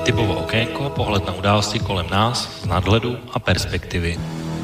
Typovo okénko, pohled na události kolem nás z nadhledu a perspektivy.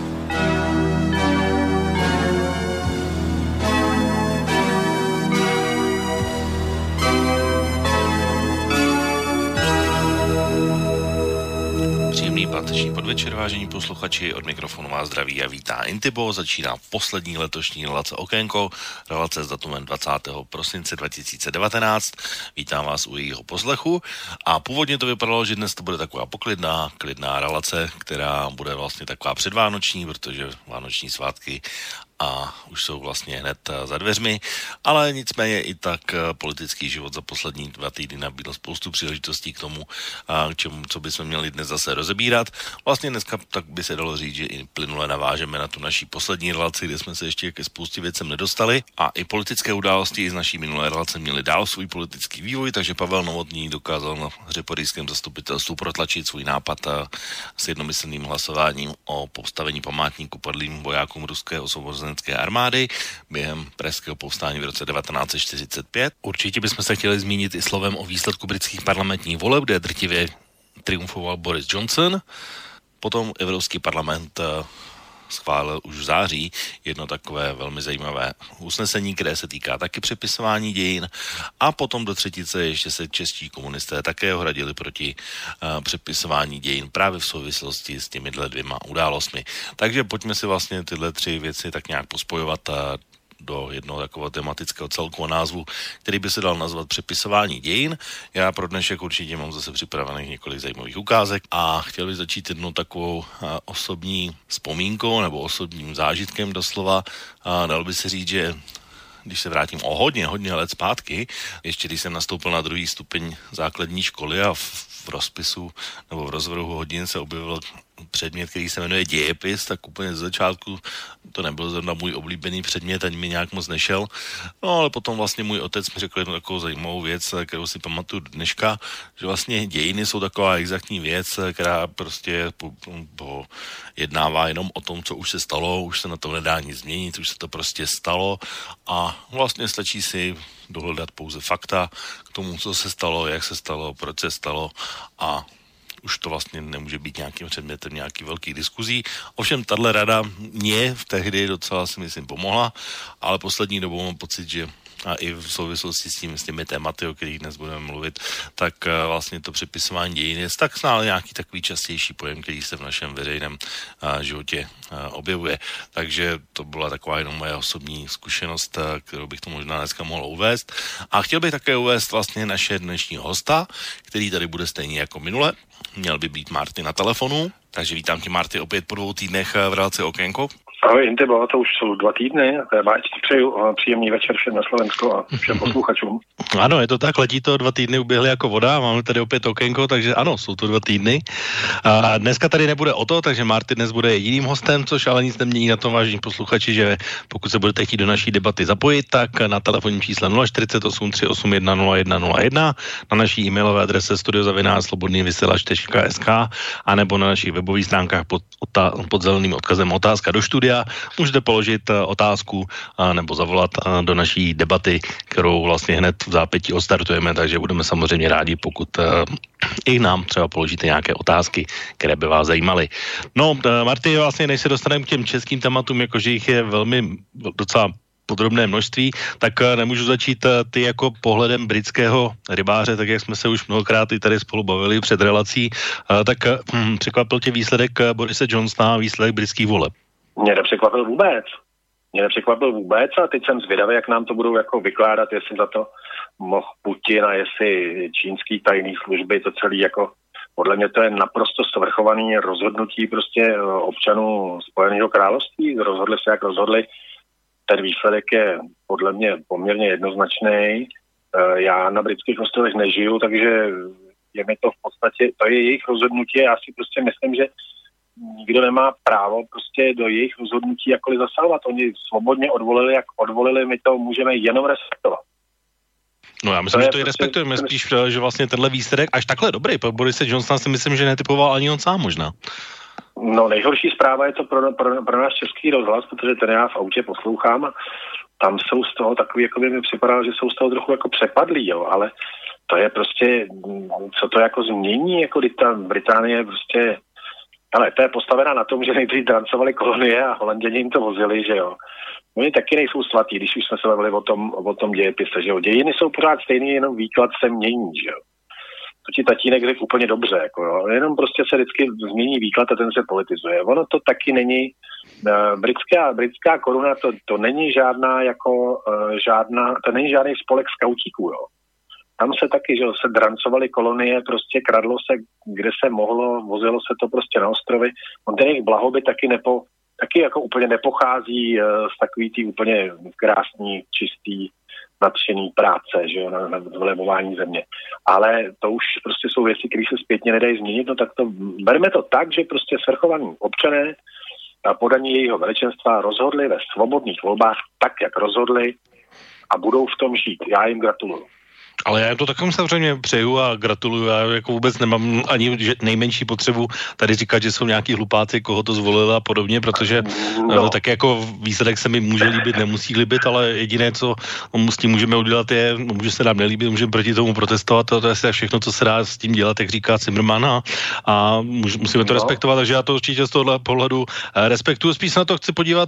Příjemný páteční podvečer, vážení posluchači, od mikrofonu vás zdraví a vítá Intibo. Začíná poslední letošní relace Okénko, relace s datumem 20. prosince 2019. Vítám vás u jejího poslechu a původně to vypadalo, že dnes to bude taková klidná relace, která bude vlastně taková předvánoční, protože vánoční svátky a už jsou vlastně hned za dveřmi, ale nicméně i tak politický život za poslední 2 týdny nabídl spoustu příležitostí k tomu, k čemu, co bychom měli dnes zase rozebírat. Vlastně dneska tak by se dalo říct, že i plynule navážeme na tu naší poslední relaci, kde jsme se ještě ke spoustě věcem nedostali a i politické události z naší minulé relace měly dál svůj politický vývoj, takže Pavel Novotný dokázal na řeporyjském zastupitelstvu protlačit svůj nápad s jednomyslným hlasováním o postavení památníku padlým vojákům ruské osvobozenecké armády během pražského povstání v roce 1945. Určitě bychom se chtěli zmínit i slovem o výsledku britských parlamentních voleb, kde drtivě triumfoval Boris Johnson. Potom Evropský parlament schválil už v září jedno takové velmi zajímavé usnesení, které se týká taky přepisování dějin a potom do třetice ještě se čeští komunisté také ohradili proti přepisování dějin právě v souvislosti s těmihle 2 událostmi. Takže pojďme si vlastně tyhle 3 věci tak nějak pospojovat do jednoho takového tematického celku a názvu, který by se dal nazvat přepisování dějin. Já pro dnešek určitě mám zase připravených několik zajímavých ukázek a chtěl bych začít jednou takovou osobní vzpomínkou nebo osobním zážitkem doslova. Dal by se říct, že když se vrátím o hodně let zpátky, ještě když jsem nastoupil na 2. stupeň základní školy a v rozpisu nebo v rozvrhu hodin se objevil předmět, který se jmenuje dějepis, tak úplně z začátku to nebyl zrovna můj oblíbený předmět, ani mi nějak moc nešel. No ale potom vlastně můj otec mi řekl jednu takovou zajímavou věc, kterou si pamatuju dneška, že vlastně dějiny jsou taková exaktní věc, která prostě jednává jenom o tom, co už se stalo, už se na to nedá nic změnit, už se to prostě stalo a vlastně stačí si dohledat pouze fakta k tomu, co se stalo, jak se stalo, proč se stalo a už to vlastně nemůže být nějakým předmětem nějaký velký diskuzí. Ovšem, tahle rada mě v tehdy docela si myslím pomohla, ale poslední dobou mám pocit, že a i v souvislosti s těmi tématy, o kterých dnes budeme mluvit, tak vlastně to přepisování dějin je tak stále nějaký takový častější pojem, který se v našem veřejném životě objevuje. Takže to byla taková jenom moje osobní zkušenost, kterou bych to možná dneska mohl uvést. A chtěl bych také uvést vlastně naše dnešního hosta, který tady bude stejně jako minule. Měl by být Marty na telefonu, takže vítám tě, Marty, opět po 2 týdnech v relaci Okénko. Ahoj, Intibo, to už jsou 2 týdny, já ti přeju příjemný večer všem na Slovensku a všem posluchačům. Ano, je to tak, letí to, 2 týdny uběhly jako voda, máme tady opět Okénko, takže ano, jsou to 2 týdny. A dneska tady nebude o to, takže Marty dnes bude jediným hostem, což ale nic nemění na tom, vážení posluchači, že pokud se budete chtít do naší debaty zapojit, tak na telefonním čísle 048 381 0101, na naší e-mailové adrese studio@slobodnývysílač.sk a nebo na našich webových stránkách pod zeleným odkazem otázka do studia. Můžete položit otázku nebo zavolat do naší debaty, kterou vlastně hned v zápětí odstartujeme, takže budeme samozřejmě rádi, pokud i nám třeba položíte nějaké otázky, které by vás zajímaly. No, Marty, vlastně než se dostaneme k těm českým tématům, jakože jich je velmi docela podrobné množství, tak nemůžu začít ty jako pohledem britského rybáře, tak jak jsme se už mnohokrát i tady spolu bavili před relací, tak překvapil tě výsledek Borise Johnsona a výsledek britských voleb? Mě nepřekvapil vůbec a teď jsem zvědavý, jak nám to budou jako vykládat, jestli za to mohl Putin a jestli čínský tajný služby, to celý jako, podle mě to je naprosto svrchovaný rozhodnutí prostě občanů Spojeného království, rozhodli se, jak rozhodli, ten výsledek je podle mě poměrně jednoznačný. Já na britských ostrovech nežiju, takže je mi to v podstatě, to je jejich rozhodnutí, já si prostě myslím, že nikdo nemá právo prostě do jejich rozhodnutí jakkoliv zasahovat. Oni svobodně odvolili, jak odvolili, my to můžeme jenom respektovat. No já myslím, že to i respektujeme, spíš, že vlastně tenhle výsledek až takhle dobrý. Pro Borise Johnsona si myslím, že netypoval ani on sám možná. No nejhorší zpráva je to pro náš Český rozhlas, protože ten já v autě poslouchám a tam jsou z toho takový, jako by mi připadalo, že jsou z toho trochu jako přepadlí, jo, ale to je prostě, co to jako změní, jako když ta Británie prostě, ale to je postavená na tom, že nejdřív drancovali kolonie a Holanděni jim to vozili, že jo. Oni taky nejsou svatí, když už jsme se bavili o tom dějepise, že jo. Dějiny jsou pořád stejný, jenom výklad se mění, že jo. To ti tatínek řekl úplně dobře, jako jo. Jenom prostě se vždycky změní výklad a ten se politizuje. Ono to taky není, britská koruna, to není žádná jako, to není žádný spolek skautíků, jo. Tam se taky, že se drancovaly kolonie, prostě kradlo se, kde se mohlo, vozilo se to prostě na ostrovy. On ten jejich blahobyt taky jako úplně nepochází z takový tý úplně krásný, čistý, nadšený práce, že jo, na vlevování země. Ale to už prostě jsou věci, které se zpětně nedají změnit, no tak to, bereme to tak, že prostě svrchovaní občané a podaní jejího veličenstva rozhodli ve svobodných volbách tak, jak rozhodli a budou v tom žít. Já jim gratuluju. Ale já jim to takovým samozřejmě přeju a gratuluju. Já jako vůbec nemám ani nejmenší potřebu tady říkat, že jsou nějaký hlupáci, koho to zvolili a podobně, protože tak jako výsledek se mi může líbit, nemusí líbit, ale jediné, co s tím můžeme udělat je, může se nám nelíbit, můžeme proti tomu protestovat, to je asi všechno, co se dá s tím dělat, jak říká Zimmermann a musíme to respektovat, takže já to určitě z tohohle pohledu respektuju. Spíš se na to chci podívat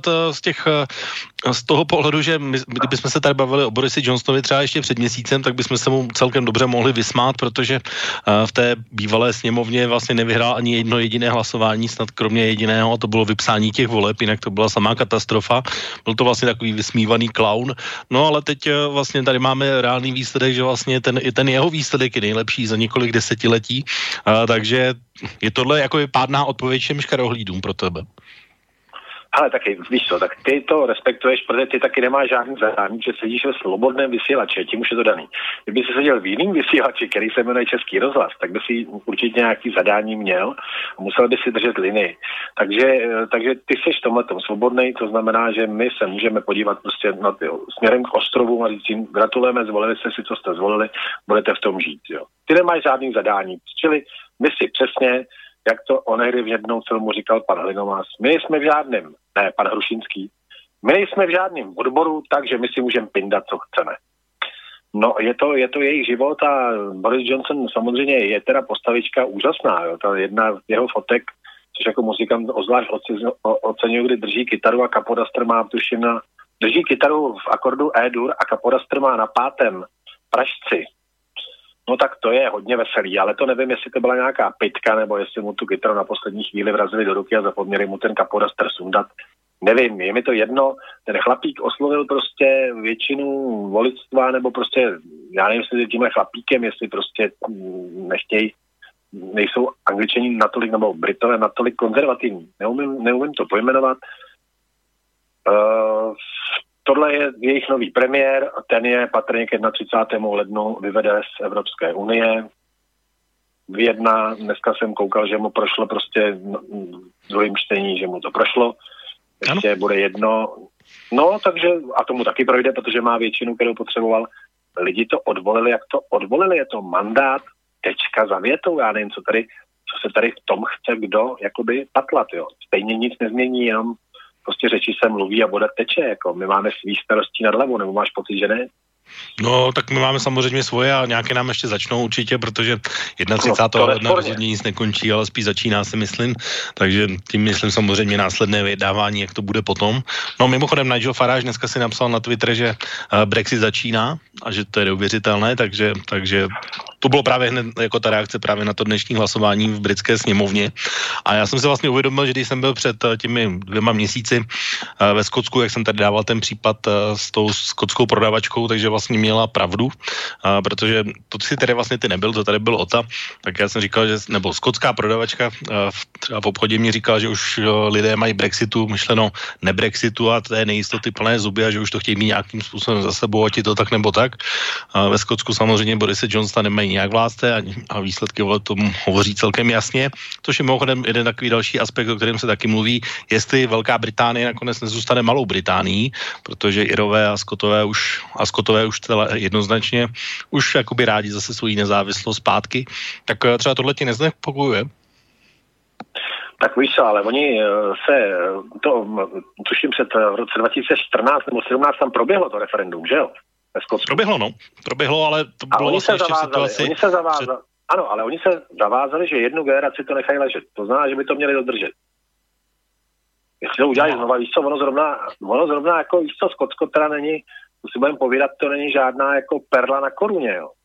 z toho pohledu, že kdybychom se tady bavili o Borisi Johnsonovi třeba ještě před měsícem, tak bychom se mu celkem dobře mohli vysmát, protože v té bývalé sněmovně vlastně nevyhrál ani jedno jediné hlasování, snad kromě jediného, a to bylo vypsání těch voleb, jinak to byla samá katastrofa. Byl to vlastně takový vysmívaný klaun. No ale teď vlastně tady máme reálný výsledek, že vlastně ten jeho výsledek je nejlepší za několik desetiletí, takže je tohle jako pádná odpověď všem škarohlídům pro tebe. Ale taky, víš co, tak ty to respektuješ, protože ty taky nemáš žádný zadání, že sedíš ve slobodném vysílači, tím už je to daný. Kdyby si seděl v jiném vysílači, který se jmenuje Český rozhlas, tak by si určitě nějaký zadání měl a musel by si držet linii. Takže ty jsi v tomhletom svobodnej, to znamená, že my se můžeme podívat prostě na ty směrem k ostrovům a říct jim, gratulujeme, zvolili jste si, co jste zvolili, budete v tom žít, jo. Ty nemáš žádný zadání, čili my si přesně, jak to onehdy v jednom filmu říkal pan Hlinomás, my jsme v žádném, ne, pan Hrušinský, my nejsme v žádném odboru, takže my si můžeme pindat, co chceme. No, je to jejich život a Boris Johnson samozřejmě je teda postavička úžasná, jo, ta jedna z jeho fotek, což jako muzikant ozvlášť oceňuji, kdy drží kytaru a Kapodastr má, tuším, drží kytaru v akordu E-dur a Kapodastr má na 5. pražci. No tak to je hodně veselý, ale to nevím, jestli to byla nějaká pitka, nebo jestli mu tu kytaru na poslední chvíli vrazili do ruky a zapomněli mu ten Kapodastr sundat. Nevím, je mi to jedno, ten chlapík oslovil prostě většinu voličstva, nebo prostě, já nevím, jestli tímhle chlapíkem, jestli prostě nechtějí, nejsou Angličani natolik, nebo Britové natolik konzervativní. Neumím to pojmenovat. Tohle je jejich nový premiér, ten je patrně k 31. lednu vyvede z Evropské unie. Vyjedná, dneska jsem koukal, že mu prošlo prostě druhým čtení, že mu to prošlo. Ještě bude jedno. No, takže, a tomu taky projde, protože má většinu, kterou potřeboval. Lidi to odvolili, jak to odvolili, je to mandát, tečka za větou, já nevím, co se tady v tom chce kdo, jakoby patlat, jo. Stejně nic nezmění, jenom prostě řeči se mluví a voda teče, jako my máme svý starostí nad hlavou, nebo máš pocit, že ne? No, tak my máme samozřejmě svoje a nějaké nám ještě začnou určitě, protože 31. ledna rozhodně nic nekončí, ale spíš začíná, si myslím, takže tím myslím samozřejmě následné vyjednávání, jak to bude potom. No, mimochodem Nigel Farage dneska si napsal na Twitter, že Brexit začíná a že to je neuvěřitelné, takže to bylo právě hned jako ta reakce právě na to dnešní hlasování v britské sněmovně. A já jsem si vlastně uvědomil, že když jsem byl před těmi 2 měsíci ve Skotsku, jak jsem tady dával ten případ s tou skotskou prodavačkou, takže vlastně měla pravdu, protože to si tady vlastně ty nebyl, to tady byl Ota, tak já jsem říkal, že, nebo skotská prodavačka třeba v obchodě mi říkala, že už lidé mají Brexitu, myšleno nebrexitu a té nejistoty plné zuby a že už to chtějí mít nějakým způsobem za sebou, ať je to tak nebo tak. Ve Skotsku samozřejmě Borise Johnsona nemají nějak vládce a výsledky tomu hovoří celkem jasně, což je mimochodem jeden takový další aspekt, o kterém se taky mluví, jestli Velká Británie nakonec nezůstane Malou Británií, protože Irové a Skotové už jednoznačně už jakoby rádi zase svoji nezávislost zpátky, tak třeba tohle ti neznepokojuje? Tak víš co, ale oni tuším v roce 2014 nebo 2017 tam proběhlo to referendum, že jo? ve Skotsku. Proběhlo, ale to bylo vlastně ještě v situaci... Ano, ale oni se zavázali, že jednu generaci to nechají ležet. To znamená, že by to měli dodržet. Jestli to udělají znova, víš co, ono zrovna jako, víš co, Skotsko teda není, to si budeme povídat, to není žádná jako perla na koruně, jo.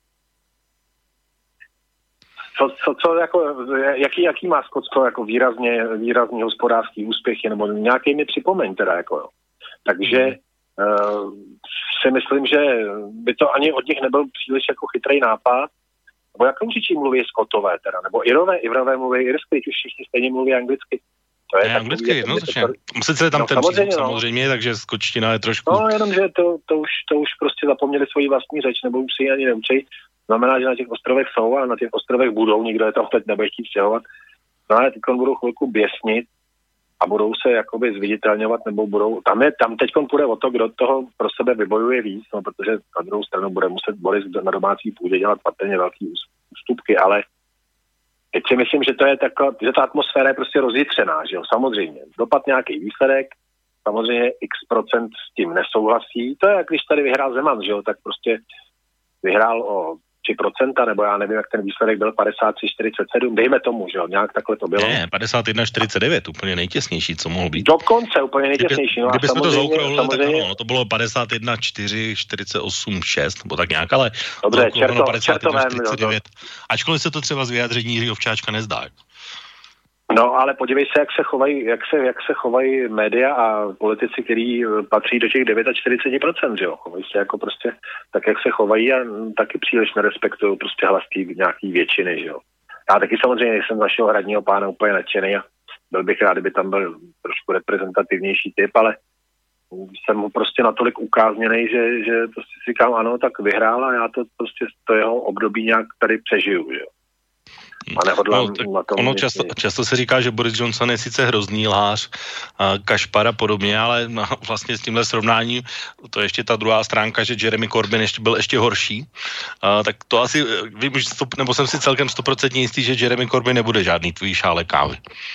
Co jako, jaký má Skotsko jako výrazný hospodářský úspěchy, nebo nějaký mi připomeň teda, jako, jo. Takže si myslím, že by to ani od nich nebyl příliš jako chytrý nápad, nebo jak určitě mluví Skotové teda, nebo Irové mluví irsky, už všichni stejně mluví anglicky. To je anglicky, jednoznačně. Sice tam ten přízvuk samozřejmě, takže skotština je trošku... No, jenom, že to už prostě zapomněli svoji vlastní řeč, nebo už si ji ani neučí. Znamená, že na těch ostrovech jsou a na těch ostrovech budou, nikdo je tam teď nebude chtít stěhovat. No ale teď budou chvilku běsnit a budou se jakoby zviditelňovat, nebo budou... Tam teď půjde o to, kdo toho pro sebe vybojuje víc, no, protože na druhou stranu bude muset Boris na domácí půdě dělat patrně velký ústupky, ale teď si myslím, že to je taková, že ta atmosféra je prostě rozjitřená, že jo, samozřejmě. Dopad nějaký výsledek, samozřejmě x% s tím nesouhlasí. To je, jak když tady vyhrál Zeman, že jo, tak prostě vyhrál o 3%, nebo já nevím, jak ten výsledek byl, 53-47, dejme tomu, že jo, nějak takhle to bylo. Ne, 51-49, úplně nejtěsnější, co mohlo být. Dokonce úplně nejtěsnější. No kdybychom to zaokrouhlili, tak ano, to bylo 51-4, 48-6, nebo tak nějak, ale dobře, 51-49, ačkoliv se to třeba z vyjádření Jiřího Ovčáčka nezdá. No, ale podívej se, jak se chovají média a politici, kteří patří do těch 49%, že jo. Chovají se jako prostě tak, jak se chovají a taky příliš nerespektují prostě hlas nějaký většiny, že jo. Já taky samozřejmě jsem z našeho hradního pána úplně nadšený a byl bych rád, kdyby tam byl trošku reprezentativnější typ, ale jsem mu prostě natolik ukázněnej, že prostě si říkám, ano, tak vyhrál a já to jeho období nějak tady přežiju, že jo. Často se říká, že Boris Johnson je sice hrozný lhář, kašpar a podobně, ale vlastně s tímhle srovnáním, to je ještě ta druhá stránka, že Jeremy Corbyn byl ještě horší, tak to asi, vím, nebo jsem si celkem 100% jistý, že Jeremy Corbyn nebude žádný tvůj šálek kávy.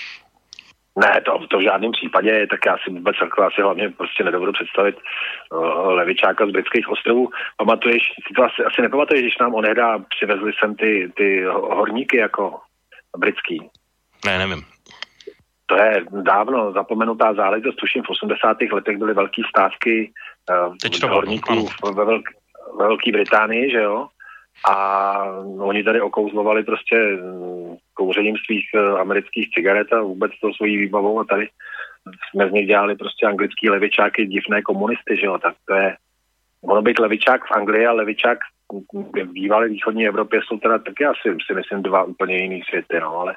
Ne, to v žádném případě, tak já si vůbec asi hlavně prostě nedovedu představit levičáka z britských ostrovů. Pamatuješ, ty to asi nepamatuješ, když nám onehdá přivezli sem ty horníky jako britský. Ne, nevím. To je dávno zapomenutá záležitost, tuším v 80. letech byly velký stávky horníků ve Velké Británii, že jo? A oni tady okouzlovali prostě kouřením svých amerických cigaret a vůbec to svojí výbavou a tady jsme z nich dělali prostě anglický levičáky, divné komunisty, že jo, tak to je, ono být levičák v Anglii a levičák v bývalé východní Evropě jsou teda taky asi si myslím dva úplně jiný světy, no, ale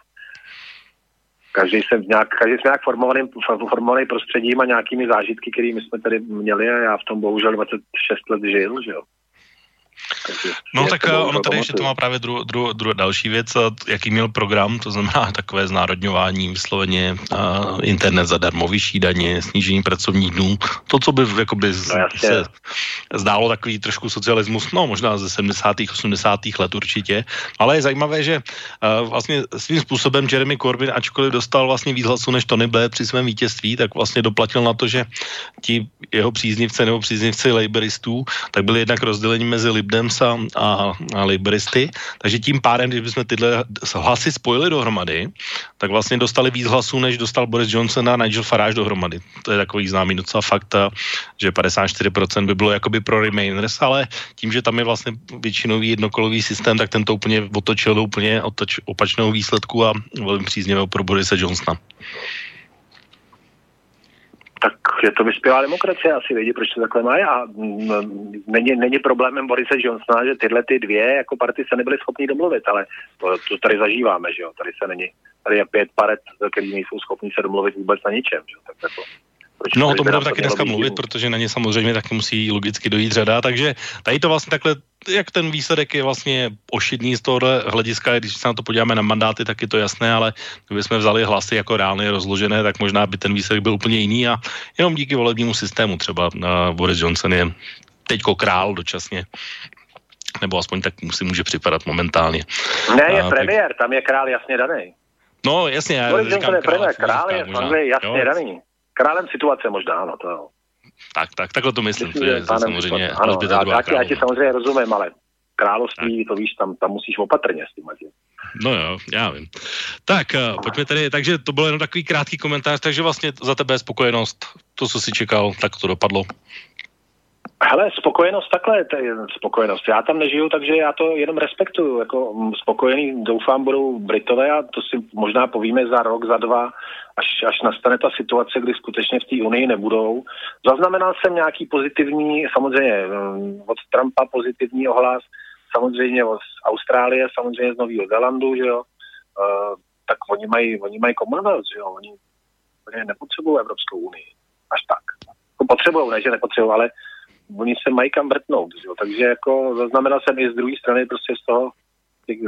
každý jsem nějak formovaný prostředím a nějakými zážitky, kterými jsme tady měli a já v tom bohužel 26 let žil, že jo. No tak ono tady ještě to má právě další věc, jaký měl program, to znamená takové znárodňování, vysloveně internet zadarmo, vyšší daně, snížení pracovních dnů, to, co by jakoby se zdálo takový trošku socialismus, no možná ze 70. 80. let určitě, ale je zajímavé, že vlastně svým způsobem Jeremy Corbyn, ačkoliv dostal vlastně víc hlasů než Tony Blair při svém vítězství, tak vlastně doplatil na to, že ti jeho příznivci nebo příznivci labouristů, tak byli jednak rozděleni mezi Lib Dems a laboristy, takže tím pádem, když bychom tyhle hlasy spojili dohromady, tak vlastně dostali víc hlasů, než dostal Boris Johnson a Nigel Farage dohromady. To je takový známý docela fakt, že 54% by bylo jakoby pro Remainers, ale tím, že tam je vlastně většinový jednokolový systém, tak ten to úplně otočil do úplně opačného výsledku a velmi příznivého pro Borise Johnsona. Tak je to vyspělá demokracie, asi vědí, proč to takhle mají a není problémem Borise Johnsona, že tyhle ty dvě jako party se nebyly schopní domluvit, ale to tady zažíváme, že jo, tady je 5 paret, který nejsou schopní se domluvit vůbec na ničem, že jo, tak jako no, o tom budeme taky dneska mluvit, protože na ně samozřejmě taky musí logicky dojít řada, takže tady to vlastně takhle, jak ten výsledek je vlastně ošidný z tohohle hlediska, když se na to podíváme na mandáty, tak je to jasné, ale kdybychom vzali hlasy jako reálně rozložené, tak možná by ten výsledek byl úplně jiný a jenom díky volebnímu systému třeba Boris Johnson je teďko král dočasně, nebo aspoň tak si může připadat momentálně. Ne, je premiér, tam je král jasně daný. No, jasně. Boris Johnson je premiér, král je v Anglii jasně daný. Králem situace možná, ano, to jo. Takhle to myslím, to je samozřejmě ano, já ti samozřejmě rozumím, ale království, to víš, tam musíš opatrně s tím. No jo, já vím. Tak, pojďme tedy, takže to byl jenom takový krátký komentář, takže vlastně za tebe je spokojenost, to, co jsi čekal, tak to dopadlo. Hele, spokojenost, takhle, to je spokojenost. Já tam nežiju, takže já to jenom respektuju. Jako spokojený, doufám, budou Britové a to si možná povíme za rok, za dva, až nastane ta situace, kdy skutečně v té Unii nebudou. Zaznamenal jsem nějaký pozitivní, samozřejmě od Trumpa pozitivní ohlas, samozřejmě z Austrálie, samozřejmě z Nového Zélandu, že jo. Tak oni mají Commonwealth, že jo. Oni nepotřebují Evropskou unii. Až tak. Potřebují, ne, že nepotřebují, ale oni se mají kam vrtnout, jo? Takže jako zaznamenal jsem i z druhé strany prostě z toho těch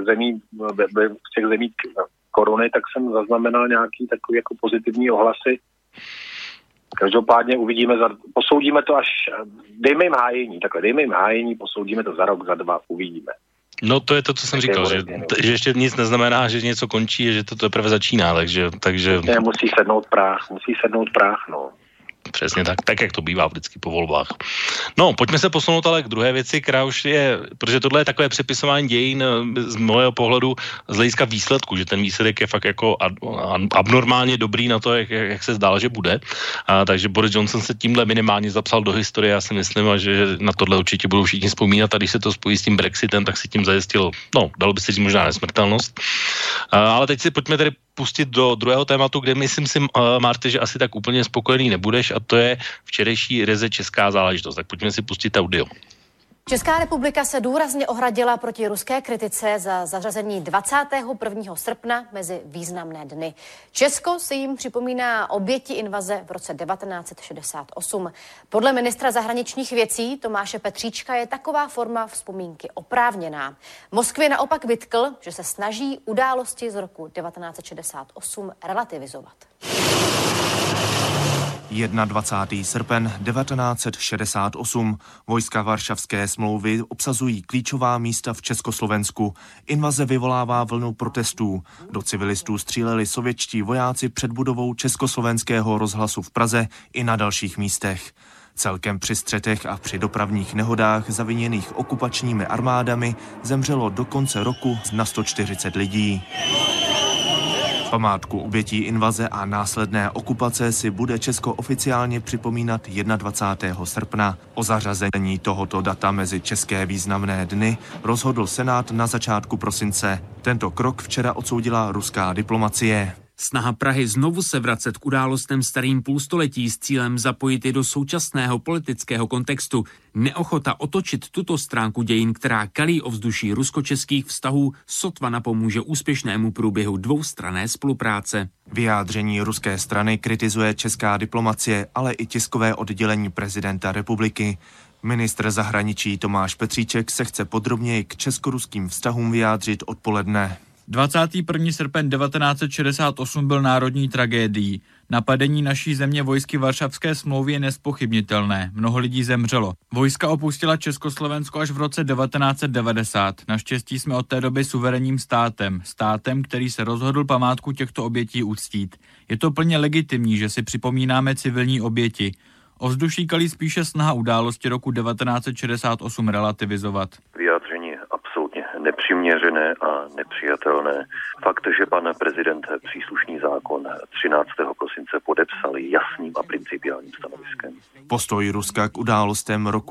zemí koruny, tak jsem zaznamenal nějaký takový jako pozitivní ohlasy. Každopádně posoudíme to až, dejme jim hájení, posoudíme to za rok, za dva, uvidíme. No to je to, co jsem říkal, že ještě nic neznamená, že něco končí, že to teprve začíná, takže... Musí sednout práh, no. Přesně tak jak to bývá vždycky po volbách. No, pojďme se posunout ale k druhé věci, která už je, protože tohle je takové přepisování dějin z mého pohledu z hlediska výsledku, že ten výsledek je fakt jako abnormálně dobrý na to, jak se zdálo, že bude. Takže Boris Johnson se tímhle minimálně zapsal do historie, já si myslím, a že na tohle určitě budou všichni vzpomínat, a když se to spojí s tím Brexitem, tak si tím zajistil, dalo by se říct možná nesmrtelnost. Ale teď si pojďme tedy pustit do druhého tématu, kde myslím si, Marty, že asi tak úplně spokojený nebudeš, a to je včerejší ryze česká záležitost. Tak pojďme si pustit audio. Česká republika se důrazně ohradila proti ruské kritice za zařazení 21. srpna mezi významné dny. Česko si jim připomíná oběti invaze v roce 1968. Podle ministra zahraničních věcí Tomáše Petříčka je taková forma vzpomínky oprávněná. Moskvě naopak vytkl, že se snaží události z roku 1968 relativizovat. 21. srpen 1968. Vojska Varšavské smlouvy obsazují klíčová místa v Československu. Invaze vyvolává vlnu protestů. Do civilistů stříleli sovětští vojáci před budovou Československého rozhlasu v Praze i na dalších místech. Celkem při střetech a při dopravních nehodách zaviněných okupačními armádami zemřelo do konce roku na 140 lidí. Památku obětí invaze a následné okupace si bude Česko oficiálně připomínat 21. srpna. O zařazení tohoto data mezi české významné dny rozhodl Senát na začátku prosince. Tento krok včera odsoudila ruská diplomacie. Snaha Prahy znovu se vracet k událostem starým půlstoletí s cílem zapojit je do současného politického kontextu. Neochota otočit tuto stránku dějin, která kalí ovzduší rusko-českých vztahů, sotva napomůže úspěšnému průběhu dvoustranné spolupráce. Vyjádření ruské strany kritizuje česká diplomacie, ale i tiskové oddělení prezidenta republiky. Ministr zahraničí Tomáš Petříček se chce podrobněji k česko-ruským vztahům vyjádřit odpoledne. 21. srpen 1968 byl národní tragédií. Napadení naší země vojsky Varšavské smlouvy je nezpochybnitelné. Mnoho lidí zemřelo. Vojska opustila Československo až v roce 1990. Naštěstí jsme od té doby suverénním státem. Státem, který se rozhodl památku těchto obětí uctít. Je to plně legitimní, že si připomínáme civilní oběti. Ovzduší kalí spíše snaha události roku 1968 relativizovat. Vyjádření absolutně nepřiměřené a nepřijatelné. Fakt, že pan prezident příslušný zákon 13. prosince podepsal jasným a principiálním stanoviskem. Postoj Ruska k událostem roku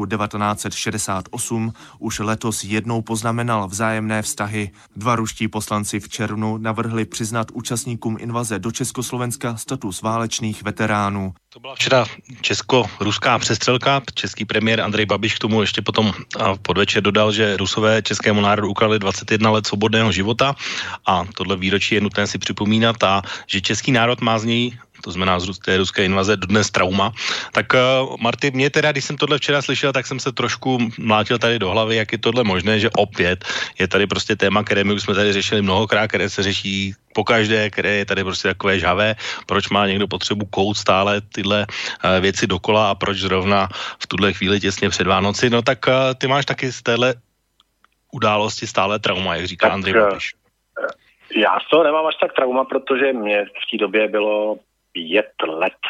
1968 už letos jednou poznamenal vzájemné vztahy. Dva ruští poslanci v červnu navrhli přiznat účastníkům invaze do Československa status válečných veteránů. To byla včera česko-ruská přestřelka. Český premiér Andrej Babiš k tomu ještě potom podvečer dodal, že Rusové českému národu ukradli 21 let svobodného života a tohle výročí je nutné si připomínat, a že český národ má z něj, to znamená z té ruské invaze, dodnes trauma. Tak Marty, mě teda, když jsem tohle včera slyšel, tak jsem se trošku mlátil tady do hlavy, jak je tohle možné, že opět je tady prostě téma, které my už jsme tady řešili mnohokrát, které se řeší pokaždé, které je tady prostě takové žhavé, proč má někdo potřebu kout stále tyhle věci dokola a proč zrovna v tuhle chvíli těsně před Vánoci. No tak ty máš taky z téhle události stále trauma, jak říká Andrej Babiš. Já z toho nemám až tak trauma, protože mě v té době bylo 5 let.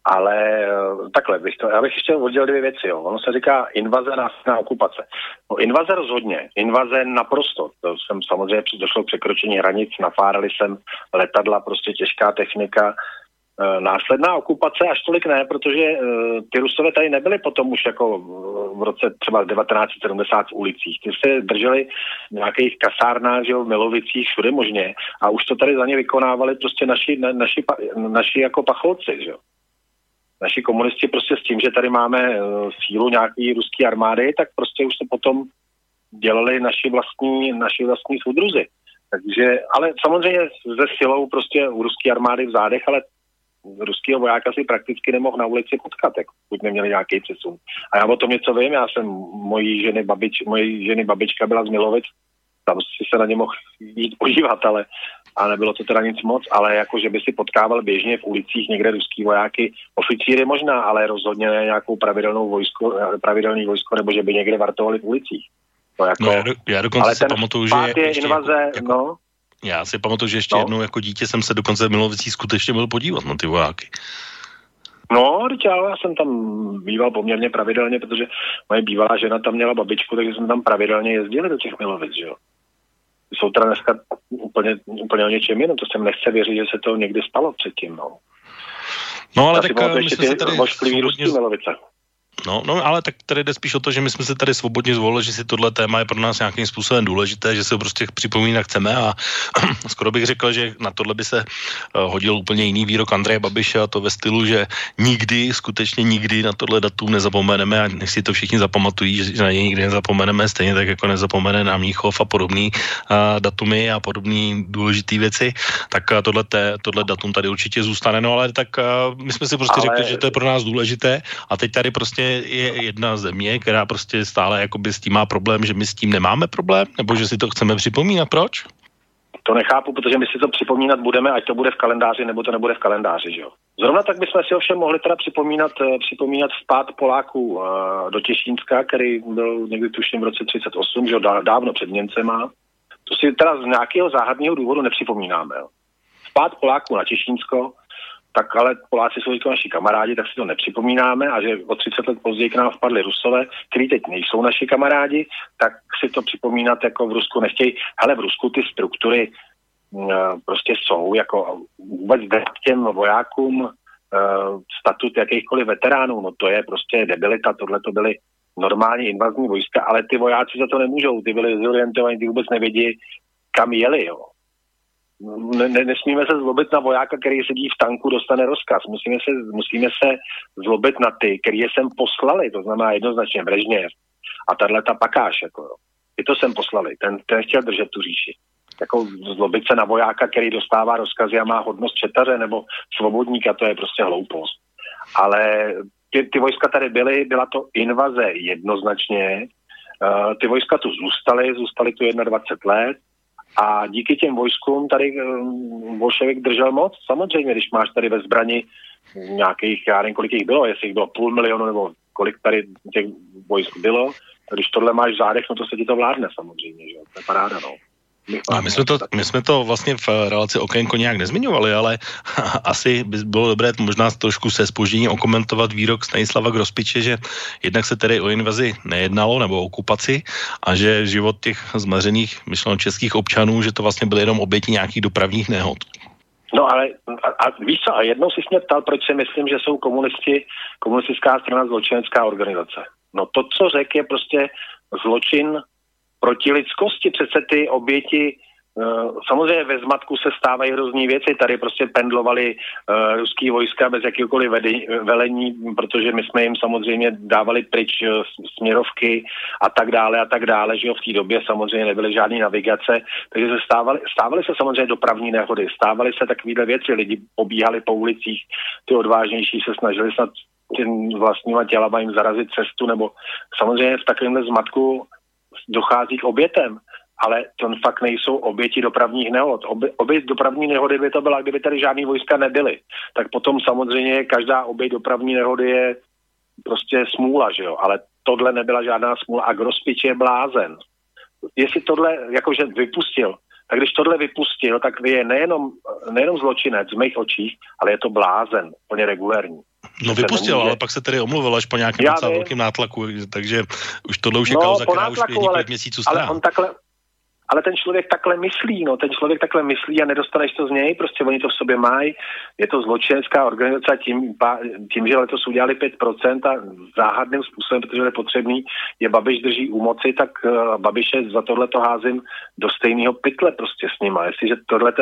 Ale takhle já bych ještě oddělil dvě věci. Jo. Ono se říká invaze na okupace. No, invaze rozhodně, invaze naprosto. To jsem samozřejmě došlo k překročení hranic, nafárali jsem letadla, prostě těžká technika. Následná okupace až tolik ne, protože ty Rusové tady nebyli potom už jako v roce třeba 1970 v ulicích. Ty se drželi v nějakých kasárnách, že jo, v Milovicích, všude možně a už to tady za ně vykonávali prostě naši jako pacholci, že jo. Naši komunisti prostě s tím, že tady máme sílu nějaký ruské armády, tak prostě už se potom dělali naši vlastní soudruzi. Takže, ale samozřejmě ze silou prostě u ruské armády v zádech, ale ruského vojáka si prakticky nemohl na ulici potkat, pokud neměli nějaký přesun. A já o tom něco vím, já jsem mojí ženy babička byla z Milovic, tam si se na ně mohl jít podívat, ale nebylo to teda nic moc, ale jako, že by si potkával běžně v ulicích někde ruský vojáky, oficíry možná, ale rozhodně ne nějakou pravidelný vojsko, nebo že by někde vartovali v ulicích. To jako, já dokonce si pamatuju, že invaze, no. Já si pamatuju, že ještě jednou jako dítě jsem se dokonce v Milovicích skutečně byl podívat na ty vojáky. No, já jsem tam býval poměrně pravidelně, protože moje bývalá žena tam měla babičku, takže jsme tam pravidelně jezdili do těch Milovic, že jo. Jsou teda dneska úplně o něčem jiném, to jsem nechce věřit, že se to někdy stalo předtím, no. No, ale tak my jsme se tady Milovice. No, ale tak tady jde spíš o to, že my jsme se tady svobodně zvolili, že si tohle téma je pro nás nějakým způsobem důležité, že se prostě připomínat chceme a skoro bych řekl, že na tohle by se hodil úplně jiný výrok Andreje Babiše a to ve stylu, že skutečně nikdy na tohle datum nezapomeneme a nech si to všichni zapamatují, že na něj nikdy nezapomeneme, stejně tak jako nezapomene na Mnichov a podobný datumy a podobný důležitý věci, tak tohle datum tady určitě zůstane, no ale tak my jsme si prostě řekli, že to je pro nás důležité a teď tady prostě je jedna země, která prostě stále jakoby s tím má problém, že my s tím nemáme problém, nebo že si to chceme připomínat, proč? To nechápu, protože my si to připomínat budeme, ať to bude v kalendáři, nebo to nebude v kalendáři, že jo. Zrovna tak bychom si ovšem mohli teda připomínat vpád Poláků do Těšínska, který byl někdy tuším v roce 38, že jo, dávno před Němcema. To si teda z nějakého záhadného důvodu nepřipomínáme, jo. Vpád Poláků na Těšínsko, tak ale Poláci jsou jako naši kamarádi, tak si to nepřipomínáme a že o 30 let později k nám vpadli Rusové, kteří teď nejsou naši kamarádi, tak si to připomínat jako v Rusku nechtějí. Hele, v Rusku ty struktury prostě jsou, jako vůbec dát těm vojákům statut jakýchkoliv veteránů, no to je prostě debilita, tohle to byly normální invazní vojska, ale ty vojáci za to nemůžou, ty byli zorientovaní, ty vůbec nevědí, kam jeli, jo. Nesmíme se zlobit na vojáka, který sedí v tanku, dostane rozkaz. Musíme se zlobit na ty, který je sem poslali, to znamená jednoznačně Brežněv a tato Pakáš, jako jo. Ty to sem poslali, ten chtěl držet tu říši. Jako zlobit se na vojáka, který dostává rozkazy a má hodnost četaře nebo svobodníka, to je prostě hloupost. Ale ty vojska tady byly, byla to invaze jednoznačně, ty vojska tu zůstaly tu 21 let, a díky těm vojskům tady bolševik držel moc. Samozřejmě, když máš tady ve zbrani nějakých, já nevím, kolik jich bylo, jestli jich bylo 500 000 nebo kolik tady těch vojsk bylo, když tohle máš v zádech, no to se ti to vládne samozřejmě, že jo, to je paráda, no. My jsme to vlastně v relaci Okénko nějak nezmiňovali, ale asi by bylo dobré možná trošku se zpožděním okomentovat výrok Stanislava Grospiče, že jednak se tedy o invazi nejednalo nebo o okupaci a že život těch zmařených myšleno českých občanů, že to vlastně byly jenom oběti nějakých dopravních nehod. No ale a víš co, a jednou si mě ptal, proč si myslím, že jsou komunistická strana zločinecká organizace. No to, co řekl, je prostě zločin proti lidskosti, přece ty oběti, samozřejmě ve zmatku se stávají hrozný věci, tady prostě pendlovali ruský vojska bez jakýkoliv velení, protože my jsme jim samozřejmě dávali pryč směrovky a tak dále, že jo, v té době samozřejmě nebyly žádné navigace, takže se stávaly se samozřejmě dopravní nehody, stávaly se takovýhle věci, lidi pobíhali po ulicích, ty odvážnější se snažili snad těm vlastníma tělama jim zarazit cestu, nebo samozřejmě v takovémhle zmatku dochází k obětem, ale to fakt nejsou oběti dopravních nehod. Oběť dopravní nehody by to byla, kdyby tady žádný vojska nebyly. Tak potom samozřejmě každá oběť dopravní nehody je prostě smůla, že jo, ale tohle nebyla žádná smůla a Grospič je blázen. Jestli tohle jakože vypustil, tak když tohle vypustil, tak je nejenom zločinec v mých očích, ale je to blázen, plně regulérní. No vypustil, ale pak se tedy omluvil až po nějakém docela velkým nátlaku, takže už tohle už je kauza, která už je několik měsíců stará. Ale ten člověk takhle myslí, a nedostaneš to z něj, prostě oni to v sobě mají, je to zločinecká organizace a tím, že letos udělali 5% a záhadným způsobem, protože je potřebný, je Babiš drží u moci, tak Babiše za tohleto házím do stejného pytle prostě s nima. Jestliže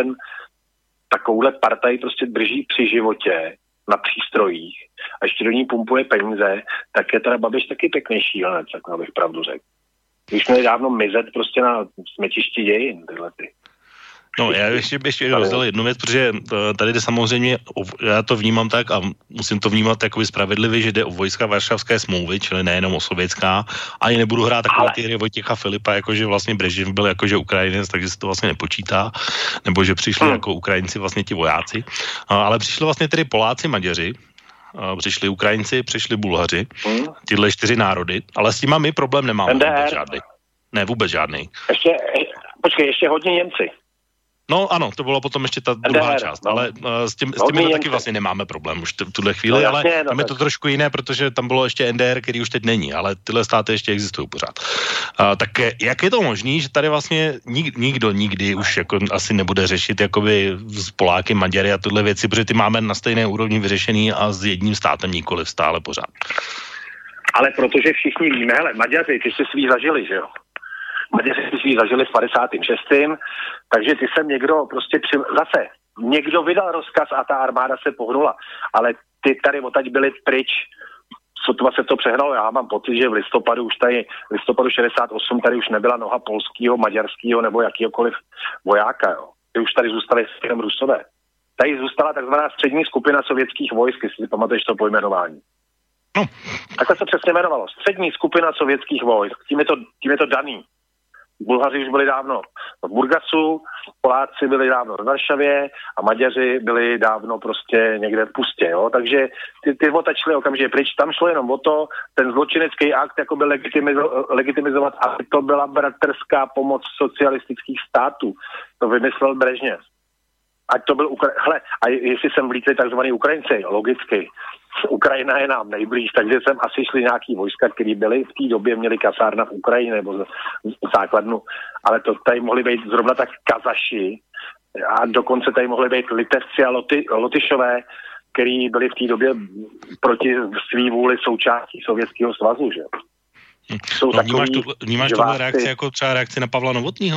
takovouhle partaj prostě drží při životě na přístrojích a ještě do ní pumpuje peníze, tak je teda Babiš taky pěkný šílenec, tak abych pravdu řekl. Už měli dávno mizet prostě na smetišti dějin, tyhle ty. No, já ještě rozdal jednu věc, protože tady jde samozřejmě, já to vnímám tak a musím to vnímat takový spravedlivě, že jde o vojska Varšavské smlouvy, čili nejenom o sovětská, ani nebudu hrát takové ty hry Vojtěcha Filipa, jakože vlastně Brežněv byl jakože Ukrajinec, takže se to vlastně nepočítá, nebo že přišli jako Ukrajinci vlastně ti vojáci, ale přišli vlastně tedy Poláci, Maďaři, přišli Ukrajinci, přišli Bulhaři, tyhle 4 národy, ale s tím my problém nemáme vůbec žádný. Ne, vůbec žádný. Ještě hodně Němci. No ano, to bylo potom ještě ta druhá část, ale s tím taky vlastně nemáme problém už v tuhle chvíli, ale tam je to trošku jiné, protože tam bylo ještě NDR, který už teď není, ale tyhle státy ještě existují pořád. Tak jak je to možný, že tady vlastně nikdo nikdy už jako asi nebude řešit jakoby s Poláky, Maďary a tyhle věci, protože ty máme na stejné úrovni vyřešený a s jedním státem nikoliv stále pořád. Ale protože všichni víme, hele, Maďaři, ty si svý zažili, že jo? Maďaři si svý zažili v 56. Takže ty sem někdo prostě zase někdo vydal rozkaz a ta armáda se pohnula, ale ty tady odtaď byli pryč, sotva se to přehnalo. Já mám pocit, že v listopadu 68 tady už nebyla noha polského, maďarského nebo jakýhokoliv vojáka, jo. Ty už tady zůstali jenom Rusové. Tady zůstala takzvaná střední skupina sovětských vojsk, jestli si pamatuješ to pojmenování. No. Takhle se přesně jmenovalo. Střední skupina sovětských vojsk. Tím je to daný. Bulhaři už byli dávno v Burgasu, Poláci byli dávno v Varšavě a Maďaři byli dávno prostě někde v Pustě, jo. Takže ty otačili okamžitě pryč. Tam šlo jenom o to, ten zločinecký akt jako byl legitimizovat, aby to byla bratrská pomoc socialistických států. To vymyslel Brežněv. Ať to byl a jestli sem vlítli takzvaný Ukrajinci, logicky. Ukrajina je nám nejblíž, takže sem asi šli nějaký vojska, který byli v té době, měli kasárna v Ukrajině nebo základnu, ale to tady mohli být zrovna tak Kazaši a dokonce tady mohli být Litevci a Lotyšové, který byli v té době proti svý vůli součástí Sovětského svazu, že? Vnímáš tohle reakci jako třeba reakci na Pavla Novotnýho?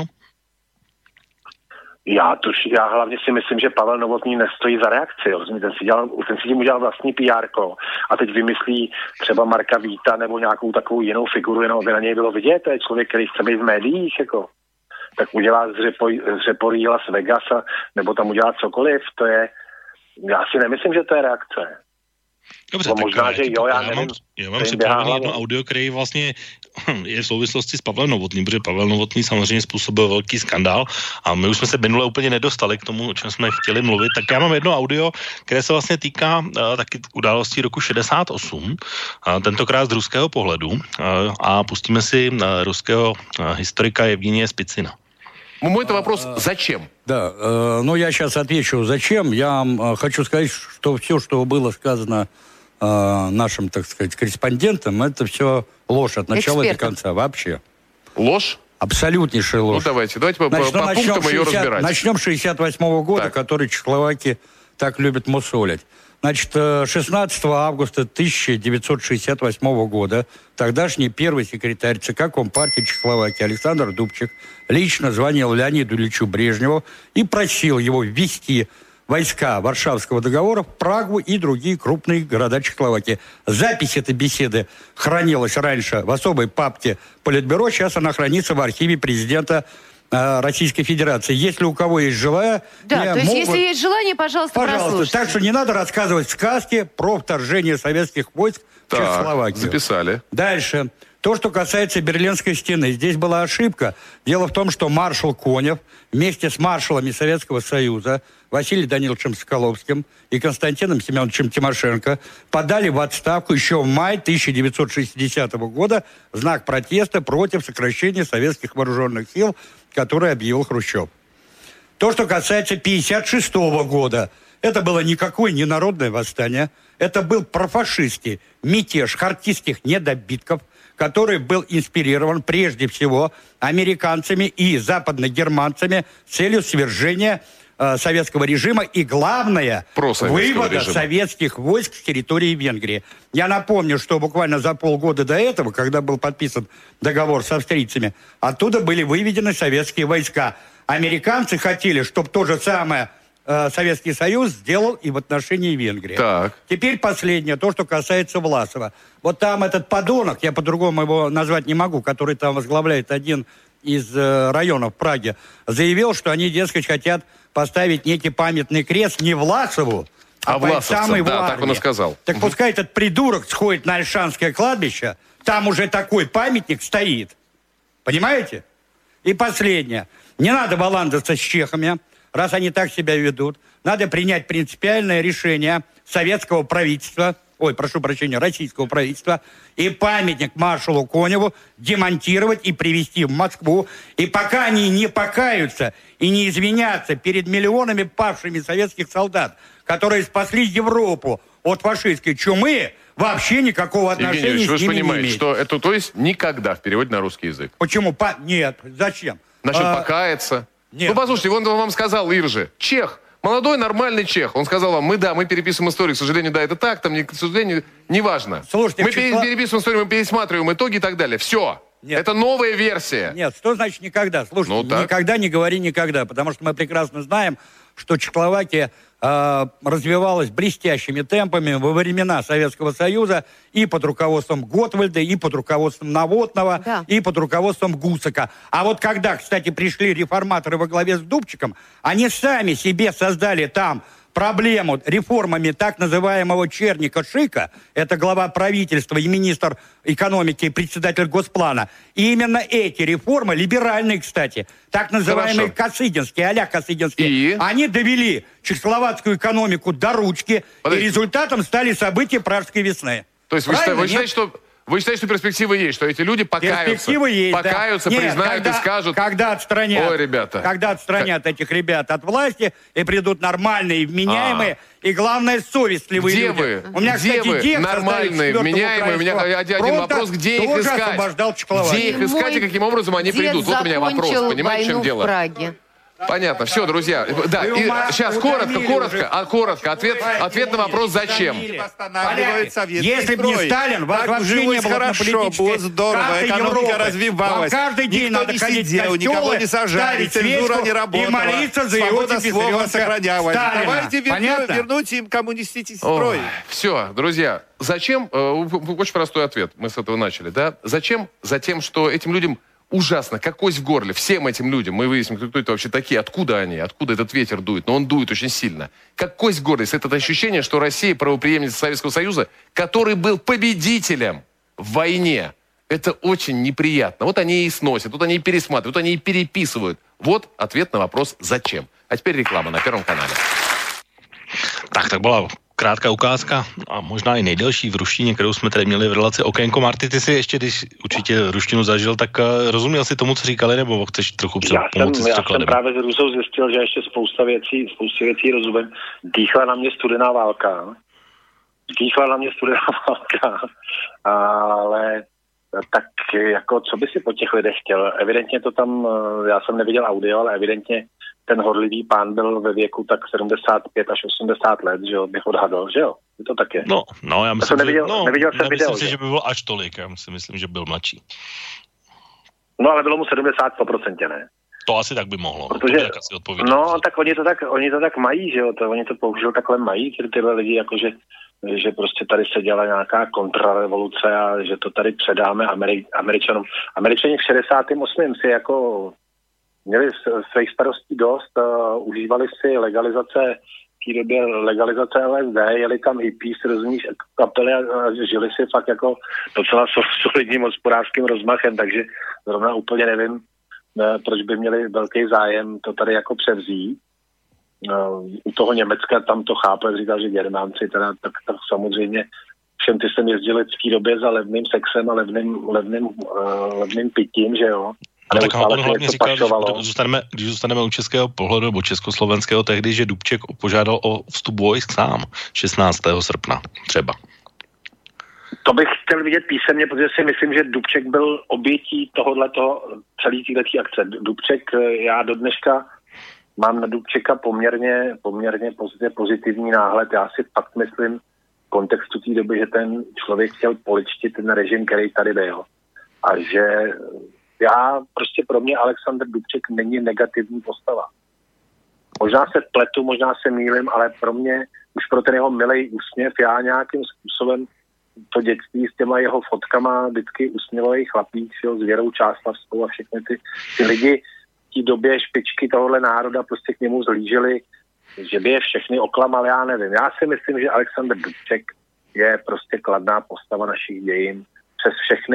Já hlavně si myslím, že Pavel Novotný nestojí za reakci. Ten si tím udělal vlastní PR-ko a teď vymyslí třeba Marka Víta nebo nějakou takovou jinou figuru, jenom aby na něj bylo vidět. To je člověk, který chce být v médiích, jako. Tak udělá z Řeporí Las Vegas nebo tam udělá cokoliv. Já si nemyslím, že to je reakce. Dobře, tak možná, že jo, já nevím. Já mám připravený jedno audio, který vlastně je v souvislosti s Pavlem Novotným, protože Pavel Novotný samozřejmě způsobil velký skandál a my už jsme se minule úplně nedostali k tomu, o čem jsme chtěli mluvit. Tak já mám jedno audio, které se vlastně týká taky událostí roku 68, tentokrát z ruského pohledu a pustíme si ruského historika Evgenia Spicina. Мой-то вопрос, зачем? Да, я сейчас отвечу, зачем. Я хочу сказать, что все, что было сказано нашим, так сказать, корреспондентам, это все ложь от начала до конца вообще. Ложь? Абсолютнейшая ложь. Давайте по пунктам ее разбирать. Начнем с 68 года, так. Который чехословаки так любят мусолить. Значит, 16 августа 1968 года тогдашний первый секретарь ЦК Компартии Чехословакии Александр Дубчик лично звонил Леониду Ильичу Брежневу и просил его ввести войска Варшавского договора в Прагу и другие крупные города Чехословакии. Запись этой беседы хранилась раньше в особой папке Политбюро, сейчас она хранится в архиве президента Российской Федерации. Если у кого есть желание... Да, то есть если есть желание, пожалуйста, прослушайте. Так что не надо рассказывать сказки про вторжение советских войск в Чехословакию. Записали. Дальше. То, что касается Берлинской стены. Здесь была ошибка. Дело в том, что маршал Конев вместе с маршалами Советского Союза Василием Даниловичем Соколовским и Константином Семеновичем Тимошенко подали в отставку еще в мае 1960 года в знак протеста против сокращения советских вооруженных сил, который объявил Хрущев. То, что касается 1956 года, Это было никакое не народное восстание. Это был профашистский мятеж хартистских недобитков, который был инспирирован прежде всего американцами и западногерманцами с целью свержения советского режима и, главное, вывода советских войск с территории Венгрии. Я напомню, что буквально за полгода до этого, когда был подписан договор с австрийцами, оттуда были выведены советские войска. Американцы хотели, чтобы то же самое Советский Союз сделал и в отношении Венгрии. Так. Теперь последнее, то, что касается Власова. Вот там этот подонок, я по-другому его назвать не могу, который там возглавляет один из районов Праги, заявил, что они, дескать, хотят поставить некий памятный крест не Власову, а бойцам его армии. Так он и сказал. Так пускай этот придурок сходит на Ольшанское кладбище, там уже такой памятник стоит. Понимаете? И последнее. Не надо баландаться с чехами, раз они так себя ведут. Надо принять принципиальное решение советского правительства, российского правительства, и памятник маршалу Коневу демонтировать и привезти в Москву. И пока они не покаются и не извинятся перед миллионами павшими советских солдат, которые спасли Европу от фашистской чумы, вообще никакого отношения Евгений Ильич, с ними не имеет. вы же понимаете, что это, то есть, никогда в переводе на русский язык. Почему? Нет. Зачем? Значит, покаяться. Нет. Ну, послушайте, он вам сказал, Иржи, чех, молодой нормальный чех. Он сказал вам, мы переписываем историю, к сожалению, да, это так, там, к сожалению, неважно. Слушайте, мы переписываем историю, мы пересматриваем итоги и так далее. Все. Нет. Это новая версия. Нет, что значит никогда? Слушайте, никогда не говори никогда, потому что мы прекрасно знаем, что Чехословакия развивалась блестящими темпами во времена Советского Союза и под руководством Готвальда, и под руководством Новотного, и под руководством Гусака. А вот когда, кстати, пришли реформаторы во главе с Дубчиком, они сами себе создали там проблему реформами так называемого Черника-Шика, это глава правительства и министр экономики и председатель Госплана. И именно эти реформы, либеральные, кстати, так называемые Косыгинские, а-ля Косыгинские, они довели чехословацкую экономику до ручки, и результатом стали события Пражской весны. То есть вы считаете, что перспективы есть, что эти люди покаются? Перспективы есть, признают и скажут... Когда отстранят этих ребят от власти, и придут нормальные, вменяемые, и, главное, совестливые люди. У меня, кстати, нормальные, вменяемые? У меня один вопрос, где их искать? Где их искать и каким обобразом они придут? Вот у меня вопрос, понимаете, в чем дело? Понятно, все, друзья. Да, и сейчас коротко, ответ на вопрос «Зачем?». Если бы не Сталин, вас вообще не было хорошо, было здорово, экономика развивалась. Каждый день надо ходить в костёлы, никого не сажали, цензура не работала, и молиться за его слова сохранялось. Давайте Понятно? вернуть им коммунистический строй. Все, друзья, зачем? Очень простой ответ, мы с этого начали, да? Зачем? Затем, что этим людям ужасно, как кость в горле, всем этим людям, мы выясним, кто это вообще такие, откуда они, откуда этот ветер дует, но он дует очень сильно. Как кость в горле, это ощущение, что Россия правопреемница Советского Союза, который был победителем в войне. Это очень неприятно. Вот они и сносят, вот они и пересматривают, вот они и переписывают. Вот ответ на вопрос «Зачем?». А теперь реклама на Первом канале. Tak byla krátká ukázka a možná i nejdelší v ruštině, kterou jsme tady měli v relaci Okénko. Marty, ty si ještě, když určitě ruštinu zažil, tak rozuměl si tomu, co říkali, nebo chceš trochu pomoci s překladem? Já jsem právě s Rusou zjistil, že ještě spoustě věcí rozumím. Dýchla na mě studená válka, ale tak jako, co by si po těch lidech chtěl? Evidentně to tam, já jsem neviděl audio, ale evidentně ten horlivý pán byl ve věku tak 75 až 80 let, že jo, bych odhadl, že jo? To tak je. No, já myslím, neviděl jsem video, si, že by byl až tolik, já si myslím, že byl mladší. No, ale bylo mu 70, 100%, ne? To asi tak by mohlo. Protože, tak oni to tak mají, že jo, oni to bohužel takhle mají, tyhle lidi, jakože že prostě tady se dělá nějaká kontrarevoluce a že to tady předáme Američanům. Američani v 68. si jako měli svých starostí dost, užívali si legalizace LSD, jeli tam hippies, rozumíš, kapely a žili si fakt jako docela solidním hospodářským rozmachem, takže zrovna úplně nevím, proč by měli velký zájem to tady jako převzít. U toho Německa tam to chápu, jak říkal, že Germánci, teda, tak samozřejmě všem ty sem jezdili v té době za levným sexem a levným pitím, že jo. No tak on hlavně říkal, že když zůstaneme u českého pohledu nebo československého tehdy, že Dubček požádal o vstup vojsk sám 16. srpna třeba. To bych chtěl vidět písemně, protože si myslím, že Dubček byl obětí tohoto celé této akce. Dubček, já do dneška mám na Dubčeka poměrně pozitivní náhled. Já si fakt myslím v kontextu té doby, že ten člověk chtěl poličtit ten režim, který tady byl. A že pro mě Alexander Dubček není negativní postava. Možná se pletu, možná se mýlim, ale pro mě, už pro ten jeho milej úsměv, já nějakým způsobem to dětství s těma jeho fotkama vždycky usměvavý chlapík, s Věrou Čáslavskou a všechny ty lidi v té době špičky tohohle národa prostě k němu zhlíželi, že by je všechny oklamal, já nevím. Já si myslím, že Alexander Dubček je prostě kladná postava našich dějin přes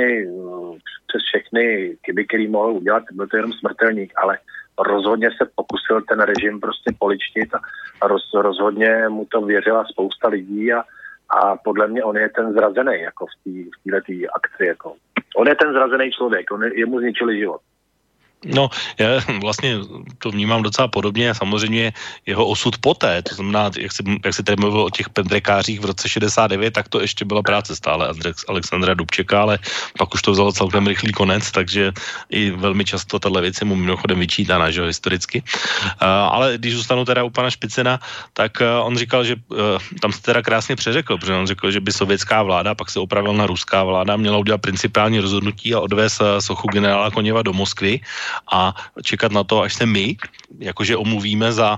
všechny chyby, který mohl udělat, byl to jenom smrtelník, ale rozhodně se pokusil ten režim prostě poličtit a rozhodně mu to věřila spousta lidí a podle mě on je ten zrazený jako v této akci. Jako. On je ten zrazený člověk, jemu zničili život. No, já vlastně to vnímám docela podobně a samozřejmě jeho osud poté, to znamená, jak si tady mluvil o těch pendrekářích v roce 69, tak to ještě byla práce stále Alexandra Dubčeka, ale pak už to vzalo celkem rychlý konec, takže i velmi často tato věc je mu mimochodem vyčítána, že jo, historicky. Ale když zůstanu teda u pana Špicena, tak on říkal, že tam se teda krásně přeřekl, protože on řekl, že by sovětská vláda, pak se opravil na ruská vláda, měla udělat principiální rozhodnutí a odvést sochu generála Koněva do Moskvy a čekat na to, až se my, jakože omluvíme za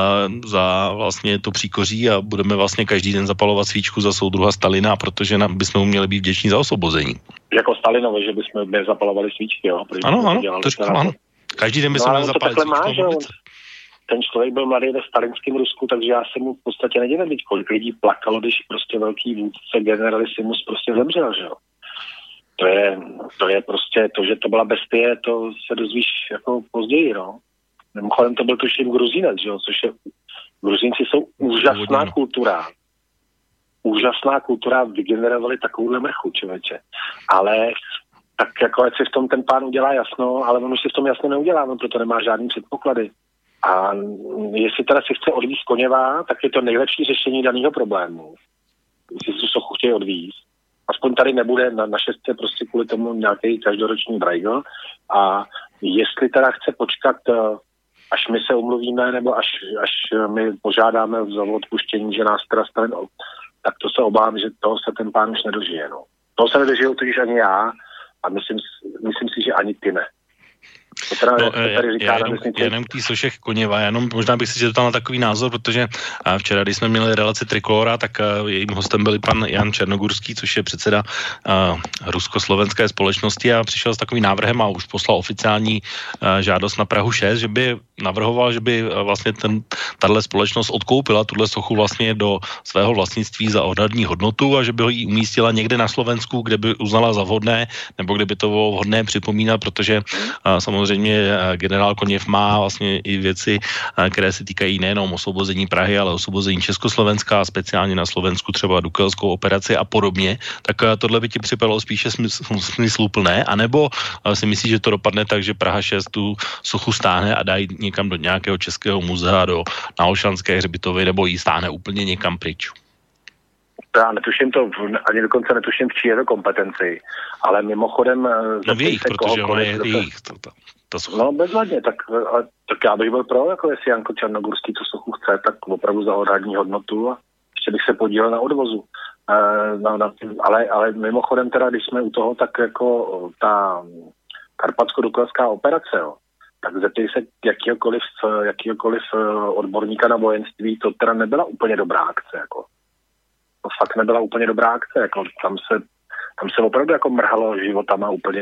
vlastně to příkoří a budeme vlastně každý den zapalovat svíčku za soudruha Stalina, protože bychom mu měli být vděční za osvobození. Jako Stalinovi, že bychom zapalovali svíčky, jo? Ano, to říkám, ano. Každý den bychom měli zapalit svíčku. Ten člověk byl mladý ve stalinském Rusku, takže já se mu v podstatě nedivím, kolik lidí plakalo, když prostě velký vůdce generalissimus prostě zemřel, že jo? To je prostě to, že to byla bestie, to se dozvíš jako později, no. Mimochodem to byl tuším Gruzínec, že jo, což je, Gruzínci jsou úžasná kultura. Úžasná kultura, vygenerovali takovouhle mrchu, člověče. Ale tak jako ať si v tom ten pán udělá jasno, ale on už si v tom jasno neudělá, on proto nemá žádný předpoklady. A jestli teda si chce odvízt Koněva, tak je to nejlepší řešení daného problému. Jestli si sochu chtějí odvízt. Aspoň tady nebude na šestce prostě kvůli tomu nějaký každoroční brajgl. A jestli teda chce počkat, až my se umluvíme, nebo až my požádáme za odpuštění, že nás teda Stalin, tak to se obávám, že toho se ten pán už nedožije. No. Toho se nedožijou totiž ani já a myslím si, že ani ty ne. Jenom k tý soše Koněva, jenom možná bych si zeptal na takový názor, protože včera, když jsme měli relaci Trikolora, tak jejím hostem byl pan Jan Černogurský, což je předseda rusko-slovenské společnosti a přišel s takovým návrhem a už poslal oficiální žádost na Prahu 6, že by navrhoval, že by vlastně tato společnost odkoupila tuhle sochu vlastně do svého vlastnictví za odhadní hodnotu a že by ho jí umístila někde na Slovensku, kde by uznala za vhodné, nebo kde by to bylo vhodné připomínat, protože samozřejmě generál Koněv má vlastně i věci, které se týkají nejenom osvobození Prahy, ale osvobození Československa a speciálně na Slovensku třeba Dukelskou operaci a podobně, tak tohle by ti připadalo spíše smysluplné, anebo si myslíš, že to dopadne tak, že Praha 6 tu sochu stáhne a dají někam do nějakého českého muzea, na Olšanské hřbitovy, nebo ji stáhne úplně někam pryč? Já netuším to, ani dokonce netuším, v čí je to kompetenci, ale mimochodem... No v jejich, protože ono je jejich. No bezvadně, tak já bych byl pro, jako jestli Janko Černogurský tu sochu chce, tak opravdu za odhadní hodnotu a ještě bych se podílel na odvozu. Ale mimochodem teda, když jsme u toho, tak jako ta karpatsko-dukelská operace, jo, tak zeptej se jakýhokoliv odborníka na vojenství, to teda nebyla úplně dobrá akce, jako. To fakt nebyla úplně dobrá akce, jako tam se opravdu jako mrhalo životama úplně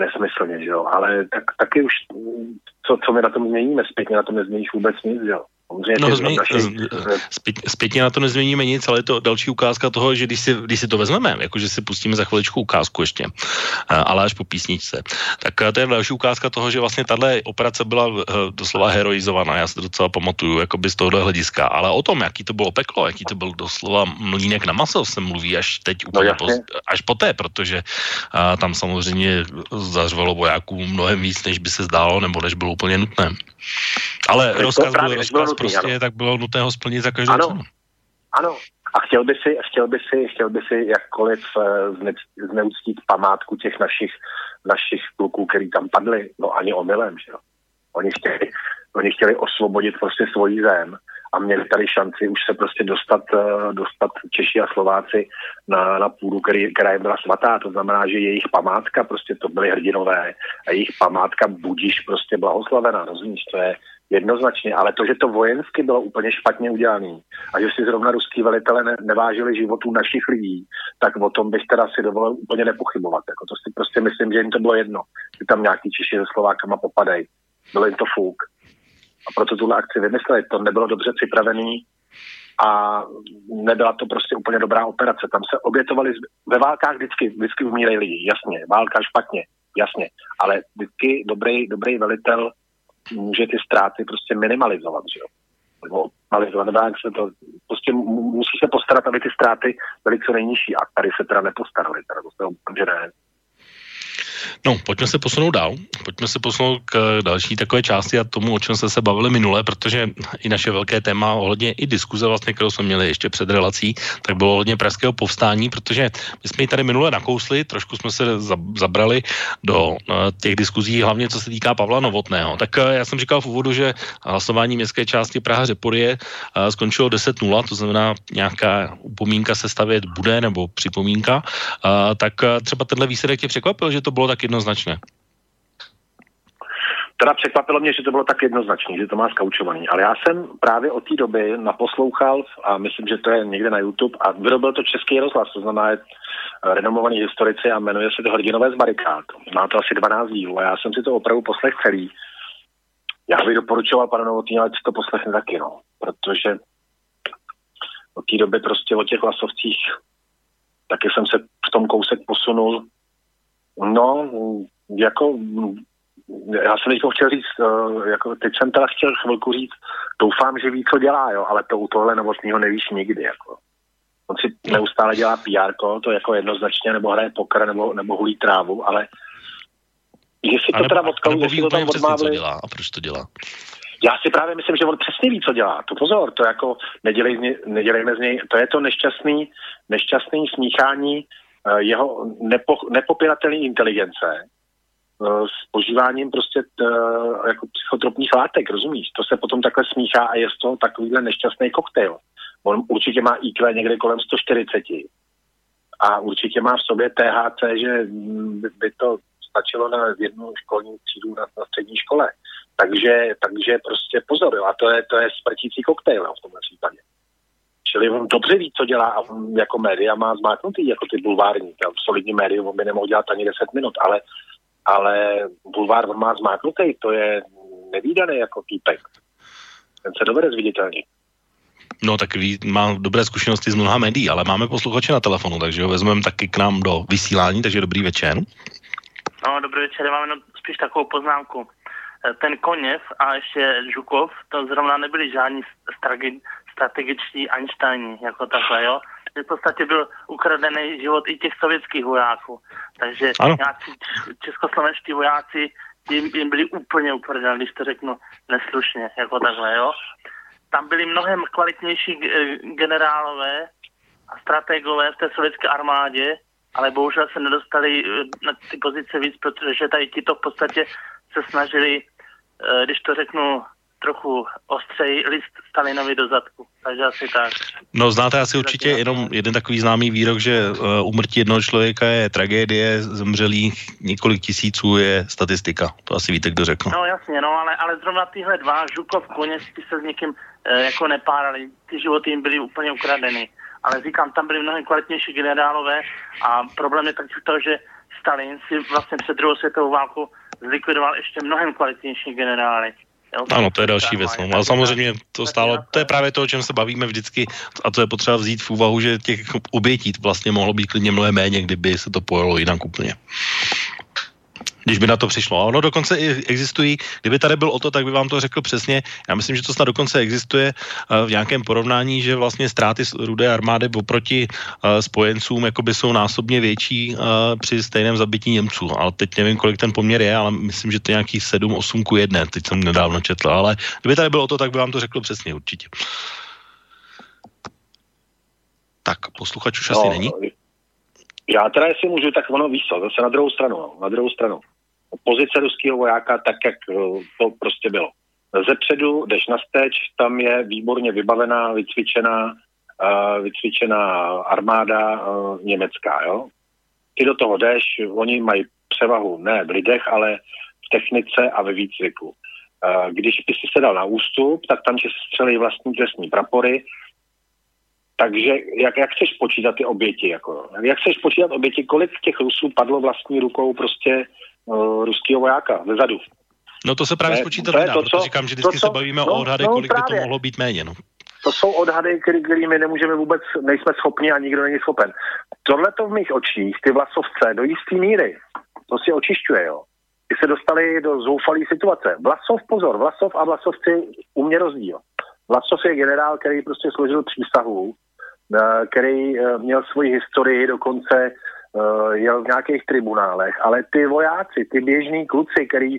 nesmyslně, že jo, ale taky už, co my na tom změníme, zpětně na tom nezměníš vůbec nic, že jo. Zpětně na to nezměníme nic, ale je to další ukázka toho, že když si to vezmeme, jakože si pustíme za chviličku ukázku ještě, ale až po písničce, tak to je další ukázka toho, že vlastně tato operace byla doslova heroizovaná. Já si to docela pamatuju, jakoby z tohohle hlediska. Ale o tom, jaký to bylo peklo, jaký to byl doslova mlýnek na maso, se mluví až teď úplně až poté, protože tam samozřejmě zařvalo vojáků mnohem víc, než by se zdálo, nebo než bylo úplně nutné. Ale rozkaz prostě, tak bylo nutné ho splnit za každou cenu. Ano. A chtěl by si jakkoliv zneuctít památku těch našich kluků, který tam padli, no ani omylem, že jo. Oni chtěli osvobodit prostě svoji zem a měli tady šanci už se prostě dostat Češi a Slováci na půdu, která jim byla svatá. To znamená, že jejich památka, prostě to byli hrdinové a jejich památka budíš prostě blahoslavená, rozumíš, to je jednoznačně, ale to, že to vojensky bylo úplně špatně udělané a že si zrovna ruský velitele nevážili životů našich lidí, tak o tom bych teda si dovolil úplně nepochybovat. Jako to si prostě myslím, že jim to bylo jedno, že tam nějaký Češi se Slovákama popadají. Bylo jim to fuk. A proto tuhle akci vymysleli. To nebylo dobře připravený a nebyla to prostě úplně dobrá operace. Tam se obětovali, ve válkách vždycky umírají lidi, jasně, válka špatně, jasně, ale vždycky dobrý velitel může ty ztráty prostě minimalizovat, že jo. Nebo minimalizovat, jak se to, prostě musí se postarat, aby ty ztráty byly co nejnižší a tady se teda nepostarali, teda to se úplně ne. No, pojďme se posunout dál. Pojďme se posunout k další takové části a tomu, o čem jsme se bavili minule, protože i naše velké téma ohledně i diskuze vlastně, kterou jsme měli ještě před relací, tak bylo ohledně pražského povstání, protože my jsme ji tady minule nakousli, trošku jsme se zabrali do těch diskuzí, hlavně co se týká Pavla Novotného. Tak já jsem říkal v úvodu, že hlasování městské části Praha-Řeporyje skončilo 10:0, to znamená nějaká upomínka se stavět bude, nebo připomínka, tak třeba tenhle výsledek tě překvapil, že to bylo tak jednoznačné? Teda překvapilo mě, že to bylo tak jednoznačné, že to má skaučovaný, ale já jsem právě od té doby naposlouchal a myslím, že to je někde na YouTube a vyrobil to Český rozhlas, to znamená renomovaný historici a jmenuje se to Hrdinové z barikád. Má to asi 12 dílů a já jsem si to opravdu poslech celý. Já bych doporučoval panu Novotnému, ať si to poslechne taky, no, protože od té doby prostě o těch hlasovcích taky jsem se v tom kousek posunul. No, jako já jsem teďko chtěl říct, jako teď jsem teda chtěl chvilku říct, doufám, že ví, co dělá, jo, ale to u tohle Novotného nevíš nikdy, jako. On si neustále dělá PR, to jako jednoznačně, nebo hraje poker, nebo hulí trávu, ale jestli to teda odkalu, jestli to tam odmávli... co dělá a proč to dělá? Já si právě myslím, že on přesně ví, co dělá. To pozor, to jako nedělejme z něj, to je to nešťastný smíchání jeho nepopiratelné inteligence s požíváním prostě jako psychotropních látek, rozumíš? To se potom takhle smíchá a je z toho takovýhle nešťastný koktejl. On určitě má IQ někde kolem 140 a určitě má v sobě THC, že by to stačilo na jednu školní třídu na střední škole. Takže prostě pozor, jo, a to je smrtící koktejl, jo, v tomhle případě. Čili on dobře ví, co dělá a on jako média má zmáknutý, jako ty bulvární, solidní médium, on by nemohl dělat ani 10 minut, ale bulvár on má zmáknutý, to je nevídaný jako týpek. Ten se dovede zviditelnit. No tak má dobré zkušenosti z mnoha médií, ale máme posluchače na telefonu, takže ho vezmeme taky k nám do vysílání, takže dobrý večer. No, dobrý večer, máme spíš takovou poznámku. Ten Koněv a ještě Žukov, to zrovna nebyli žádní strategičtí Einsteini, jako takhle, jo. V podstatě byl ukradený život i těch sovětských vojáků. Takže nějací českoslovenští vojáci jim byli úplně ukradený, když to řeknu neslušně, jako takhle, jo. Tam byli mnohem kvalitnější generálové a strategové v té sovětské armádě, ale bohužel se nedostali na ty pozice víc, protože tady tito v podstatě se snažili, když to řeknu trochu ostřeji, list Stalinovi do zadku. Takže asi tak. No znáte asi určitě jenom jeden takový známý výrok, že úmrtí jednoho člověka je tragédie, zemřelých několik tisíců je statistika. To asi víte, kdo řekl. No jasně, no ale zrovna tyhle dva, Žukov, Koněc, ty se s někým jako nepárali. Ty životy jim byly úplně ukradeny. Ale říkám, tam byli mnohem kvalitnější generálové a problém je taky to, že Stalin si vlastně před druhou světovou válkou zlikvidoval ještě mnohem kvalitnější generály. Jo? Ano, to je další věc. No. Ale samozřejmě to stálo, to je právě to, o čem se bavíme vždycky, a to je potřeba vzít v úvahu, že těch obětí vlastně mohlo být klidně mnohem méně, kdyby se to pojelo jinak úplně. Když by na to přišlo. A ono dokonce i existují, kdyby tady byl Otto, tak by vám to řekl přesně. Já myslím, že to snad dokonce existuje v nějakém porovnání, že vlastně ztráty Rudé armády oproti spojencům jakoby jsou násobně větší při stejném zabití Němců. Ale teď nevím, kolik ten poměr je, ale myslím, že to je nějaký 7-8:1. Teď jsem nedávno četl, ale kdyby tady byl Otto, tak by vám to řekl přesně určitě. Tak, posluchač už asi není. Já teda, jestli můžu, tak ono víš co, zase na druhou stranu. Pozice ruského vojáka, tak jak to prostě bylo. Zepředu jdeš na steč, tam je výborně vybavená, vycvičená armáda německá, jo. Ty do toho jdeš, oni mají převahu ne v lidech, ale v technice a ve výcviku. Když by si se dal na ústup, tak tam ti střelí vlastní trestní prapory. Takže jak chceš počítat ty oběti? Jak chceš počítat oběti, kolik těch Rusů padlo vlastní rukou prostě ruského vojáka zezadu? No to se právě spočítat nedá, protože říkám, že vždycky se bavíme o odhadech, kolik by to mohlo být méně. No. To jsou odhady, který my nemůžeme vůbec, nejsme schopni a nikdo není schopen. Tohle to v mých očích, ty Vlasovce, do jistý míry, to si očišťuje, jo. Ty se dostali do zoufalé situace. Vlasov a Vlasovci u mě rozdíl. Vlasov je generál, který prostě složil přísahu, který měl svoji historii, dokonce jel v nějakých tribunálech, ale ty vojáci, ty běžní kluci, který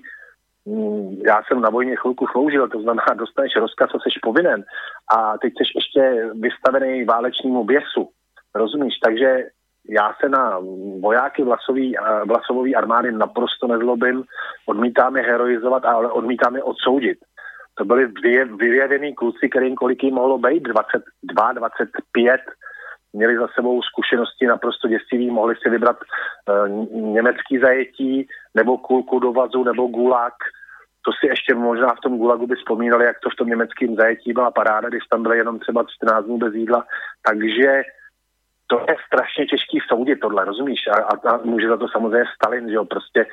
já jsem na vojně chvilku sloužil, to znamená, dostaneš rozkaz, co jsi povinen a teď jsi ještě vystavený válečnímu běsu, rozumíš? Takže já se na vojáky Vlasovové armády naprosto nezlobím, odmítám je heroizovat, ale odmítám je odsoudit. To byli vyjevený kluci, kterým kolik jim mohlo být, 22, 25, měli za sebou zkušenosti naprosto děsivý, mohli si vybrat německý zajetí, nebo kulku do vazu, nebo gulag. To si ještě možná v tom gulagu by vzpomínali, jak to v tom německém zajetí byla paráda, když tam byly jenom třeba 14 dní bez jídla. Takže to je strašně těžký soudit tohle, rozumíš? A může za to samozřejmě Stalin, že jo, prostě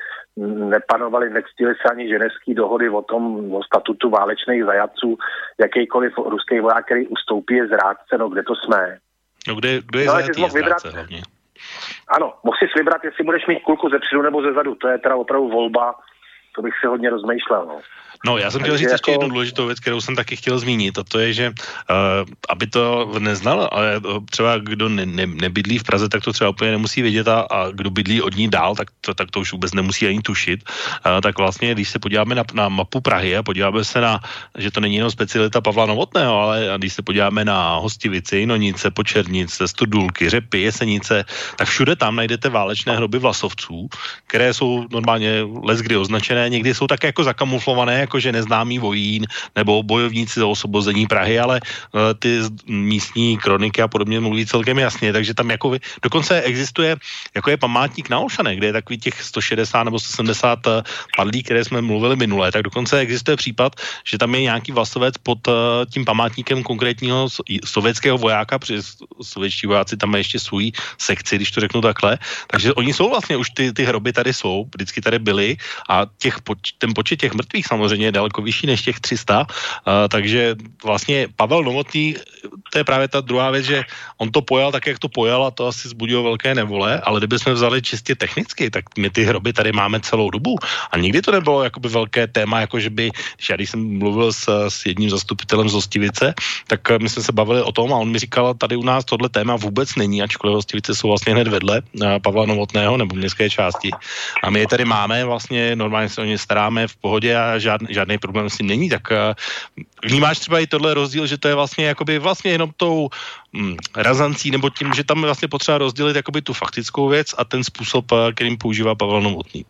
nectili se ani ženevský dohody o statutu válečných zajatců, jakýkoliv ruský voják, který ustoupí, je zrádce, no kde to jsme? No kdo je zajatý, je zrádce hlavně. Ano, mohl jsi vybrat, jestli budeš mít kulku zepředu nebo zezadu, to je teda opravdu volba, to bych si hodně rozmýšlel, no. No, já jsem chtěl říct ještě jednu důležitou věc, kterou jsem taky chtěl zmínit, a to je, že aby to neznal, ale třeba kdo nebydlí v Praze, tak to třeba úplně nemusí vědět a kdo bydlí od ní dál, tak to už vůbec nemusí ani tušit. Tak vlastně, když se podíváme na mapu Prahy a podíváme se že to není jenom specialita Pavla Novotného, ale když se podíváme na Hostivice, Jinonice, Počernice, Studulky, Řepy, Jesenice, tak všude tam najdete válečné hroby Vlasovců, které jsou normálně leckdy označené, někdy jsou také jako zakamuflované, jakože neznámý vojín nebo bojovníci za osvobození Prahy, ale ty místní kroniky a podobně mluví celkem jasně, takže tam jako dokonce existuje, jako je památník na Olšanech, kde je takový těch 160 nebo 170 padlí, které jsme mluvili minule, tak dokonce existuje případ, že tam je nějaký Vlasovec pod tím památníkem konkrétního sovětského vojáka, protože sovětští vojáci tam mají ještě svůj sekci, když to řeknu takhle, takže oni jsou vlastně už ty hroby tady jsou, vždycky tady byly a ten počet těch mrtvých samozřejmě je daleko vyšší než těch 300, takže vlastně Pavel Novotný, to je právě ta druhá věc, že on to pojal tak, jak to pojal a to asi vzbudilo velké nevole, ale kdyby jsme vzali čistě technicky, tak my ty hroby tady máme celou dobu a nikdy to nebylo jakoby velké téma, jako že by, když jsem mluvil s jedním zastupitelem z Hostivice, tak my jsme se bavili o tom a on mi říkal, tady u nás tohle téma vůbec není, ačkoliv Hostivice jsou vlastně hned vedle Pavla Novotného nebo městské části a my je tady máme, vlastně normálně se o ně staráme v pohodě a žádný problém s tím není, tak vnímáš třeba i tohle rozdíl, že to je vlastně jenom tou razancí, nebo tím, že tam je vlastně potřeba rozdělit jakoby tu faktickou věc a ten způsob, kterým používá Pavel Novotný.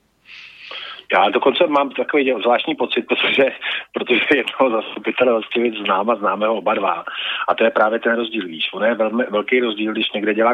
Já dokonce mám takový zvláštní pocit, protože jednoho zastupitele Hostivic známe ho oba dva. A to je právě ten rozdíl, víš. On je velký rozdíl, když někde dělá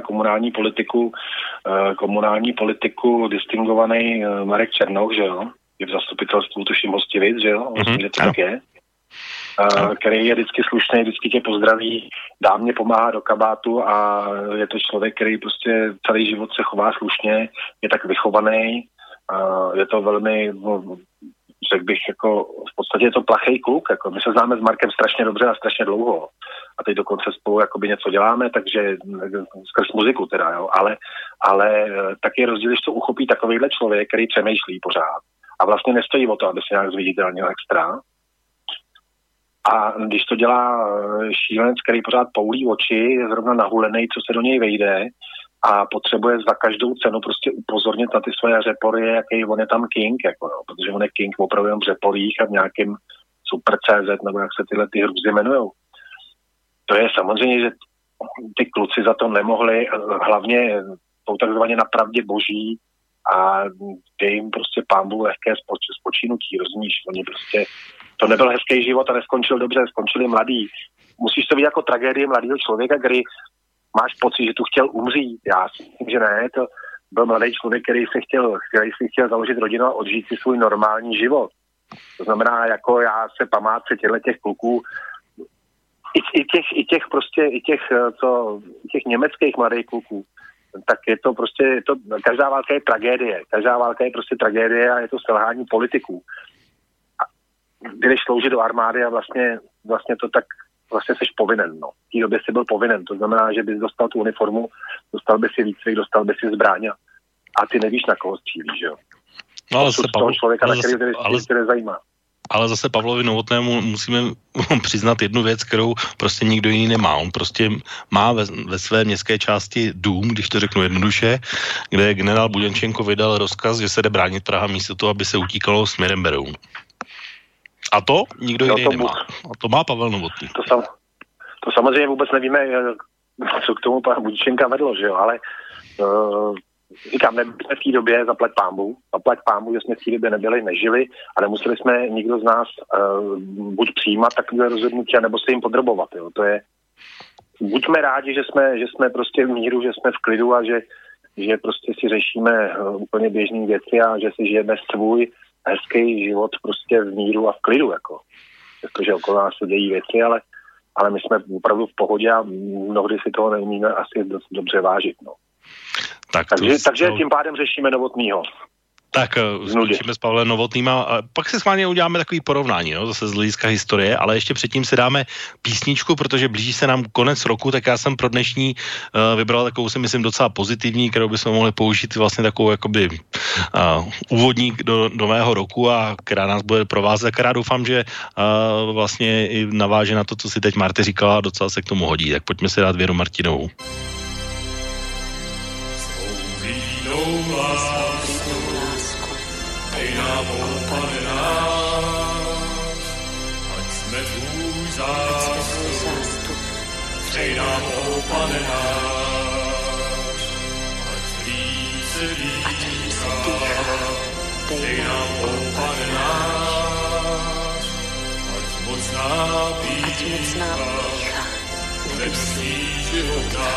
komunální politiku distingovaný Marek Černoch, že jo? Je v zastupitelstvu, tuším Hostivic, že jo? Že to tak je. Který je vždycky slušný, vždycky tě pozdraví, dá mě pomáhá do kabátu a je to člověk, který prostě celý život se chová slušně, je tak vychovaný, je to velmi řekl bych, jako v podstatě je to plachej kluk, jako my se známe s Markem strašně dobře a strašně dlouho a teď dokonce spolu jakoby něco děláme, takže skrz muziku teda, jo, ale taky je rozdíl, když to uchopí takovýhle člověk, který přemýšlí pořád a vlastně nestojí o to, aby se nějak zviditelnil extra. A když to dělá šílenec, který pořád poulí oči, je zrovna nahulený, co se do něj vejde a potřebuje za každou cenu prostě upozornit na ty svoje řepory, jaký on je tam king, jako no, protože on je king opravdu jen v řeporích a v nějakým Super.cz, nebo jak se tyhle ty hrůzy jmenujou. To je samozřejmě, že ty kluci za to nemohli, hlavně jsou takzvaně na pravdě boží a je jim prostě pánbu lehké spočinutí, rozumíš? Oni prostě, to nebyl hezký život a neskončil dobře, skončili mladí. Musíš to vidět jako tragédii mladého člověka, který máš pocit, že tu chtěl umřít. Já si myslím, že ne, to byl mladý člověk, který si chtěl založit rodinu a odžít si svůj normální život. To znamená, jako já se památce těch kluků, i těch německých mladých kluků, tak je to prostě, každá válka je tragédie. Každá válka je prostě tragédie a je to selhání politiků. A když sloužit do armády a vlastně to tak, vlastně jsi povinen, no. V té době jsi byl povinen, to znamená, že bys dostal tu uniformu, dostal by si výcvik, dostal by si zbraň a ty nevíš, na koho střílíš, jo. No, ale toho člověka, na který tě nezajímá. Ale zase Pavlovi Novotnému musíme přiznat jednu věc, kterou prostě nikdo jiný nemá. On prostě má ve své městské části dům, když to řeknu jednoduše, kde generál Buděnčenko vydal rozkaz, že se jde bránit Praha místo toho, aby se utíkalo směrem Beroun. A to nikdo jiný nemá. A to má Pavel Novotný. To samozřejmě vůbec nevíme, co k tomu pana Buděnčenka vedlo, že jo, ale říkám, nebyli jsme v té době, zaplať pámbu, že jsme v té době nebyli, nežili a nemuseli jsme nikdo z nás buď přijímat takové rozhodnutí, nebo se jim podrobovat. Jo. To je, buďme rádi, že jsme prostě v míru, že jsme v klidu a že prostě si řešíme úplně běžné věci a že si žijeme svůj hezký život prostě v míru a v klidu. Jako. Protože okolo nás se dějí věci, ale my jsme opravdu v pohodě a mnohdy si toho neumíme asi dost dobře vážit. No. Takže tím pádem řešíme Novotnýho. Tak skončíme s Pavlem Novotným a pak si schválně uděláme takový porovnání, no, zase z hlediska historie, ale ještě předtím si dáme písničku, protože blíží se nám konec roku, tak já jsem pro dnešní vybral takovou, si myslím, docela pozitivní, kterou bychom mohli použít vlastně takovou jakoby úvodník do nového roku a která nás bude provázet, která doufám, že vlastně i naváže na to, co si teď Marty říkala, docela se k tomu hodí. Tak pojďme si dát Věru Martinovou. Dej nám, Pane náš, ať jsme tvůj zástup. Dej nám, Pane náš, ať líp se dýchá. Dej nám, Pane náš, ať mocná pícha, nebesí života.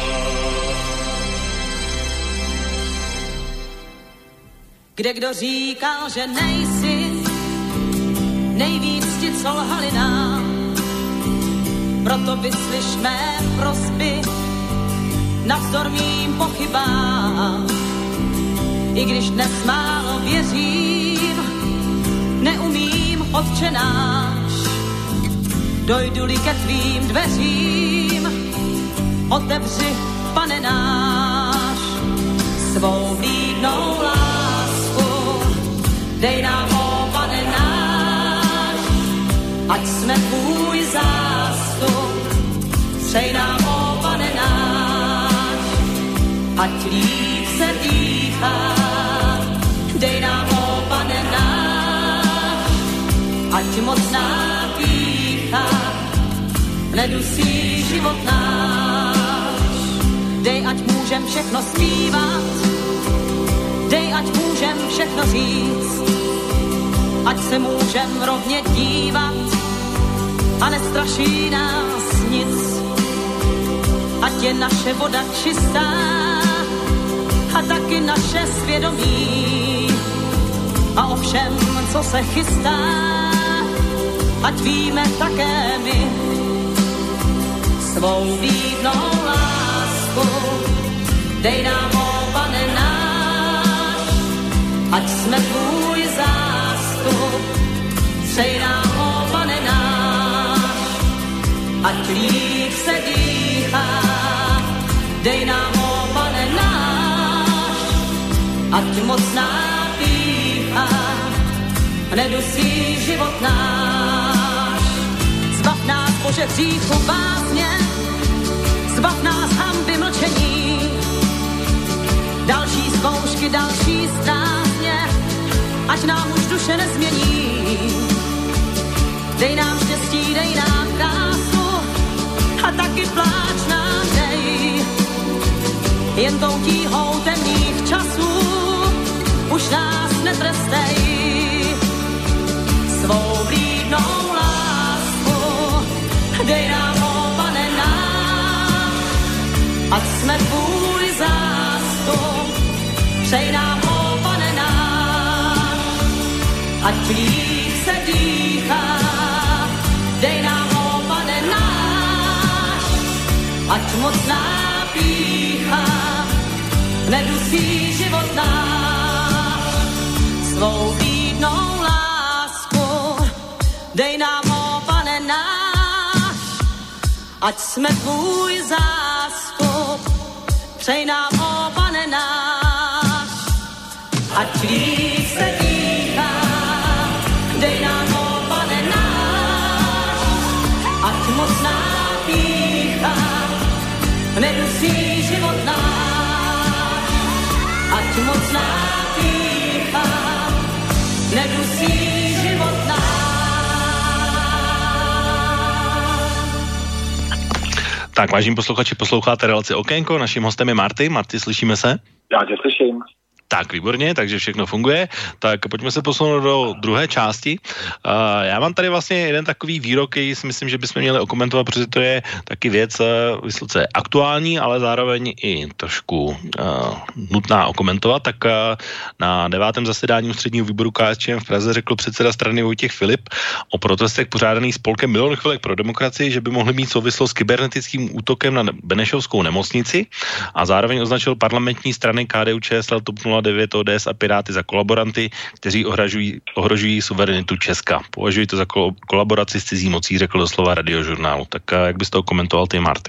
Kde kdo říkal, že nejsi, nejvíc ti, co lhali nám. Proto vyslyš mé prosby navzdor mým pochybám. I když dnes málo věřím, neumím, Otče náš. Dojdu-li ke tvým dveřím, otevři, Pane náš, svou vlídnou lásku. Dej nám, Pane náš, ať jsme tvůj zástup. Přej nám, Pane náš, ať líp se dýchá. Dej nám, Pane náš, ať mocná pýcha nedusí život náš. Dej, ať můžem všechno zpívat, dej, ať můžem všechno říct, ať se můžem rovně dívat a nestraší nás nic. Ať je naše voda čistá a taky naše svědomí a o všem, co se chystá, ať víme také my. Svou vlídnou lásku dej nám, Pane náš, ať jsme tvůj zástup. Přej nám, ó Pane náš, ať líp se dýchá. Dej nám, ó Pane náš, ať mocná pýcha nedusí život náš. Zbav nás, Bože, hříchu bázně, zbav nás hanby mlčení, další zkoušky, další strásně, ať nám už duše nezmění. Dej nám štěstí, dej nám krásu a taky pláč nám dej. Jen tou tíhou temných časů už nás netrestej. Svou vlídnou lásku dej nám, ó Pane náš, ať jsme tvůj zástup. Přej nám, ó Pane náš, ať líp se dýchá. Dej nám, ó Pane náš, ať mocná pýcha nedusí život náš. Svou vlídnou lásku dej nám, ó Pane náš, ať jsme tvůj zástup. Přej nám, ó Pane náš, ať líp se dýchá. Dej nám, ó Pane náš, ať mocná pýcha nedusí život náš. Ať mocná pýcha nedusí život náš. Tak, vážení posluchači, posloucháte relaci Okénko, naším hostem je Marty. Marty, slyšíme se? Já tě slyším. Tak, výborně, takže všechno funguje. Tak pojďme se posunout do druhé části. Já mám tady vlastně jeden takový výrok, který si myslím, že bychom měli okomentovat, protože to je taky věc vysoce aktuální, ale zároveň i trošku nutná okomentovat. Tak na 9. zasedání ústředního výboru KSČM v Praze řekl předseda strany Vojtěch Filip o protestech pořádaných spolkem Milion chvilek pro demokracii, že by mohly mít souvislost s kybernetickým útokem na Benešovskou nemocnici, a zároveň označil parlamentní strany KDU-ČSL, TOP 09, ODS a Piráty za kolaboranty, kteří ohrožují suverenitu Česka. Považuji to za kolaboraci s cizí mocí, řekl doslova Radiožurnálu. Tak jak bys to komentoval ty, Marty?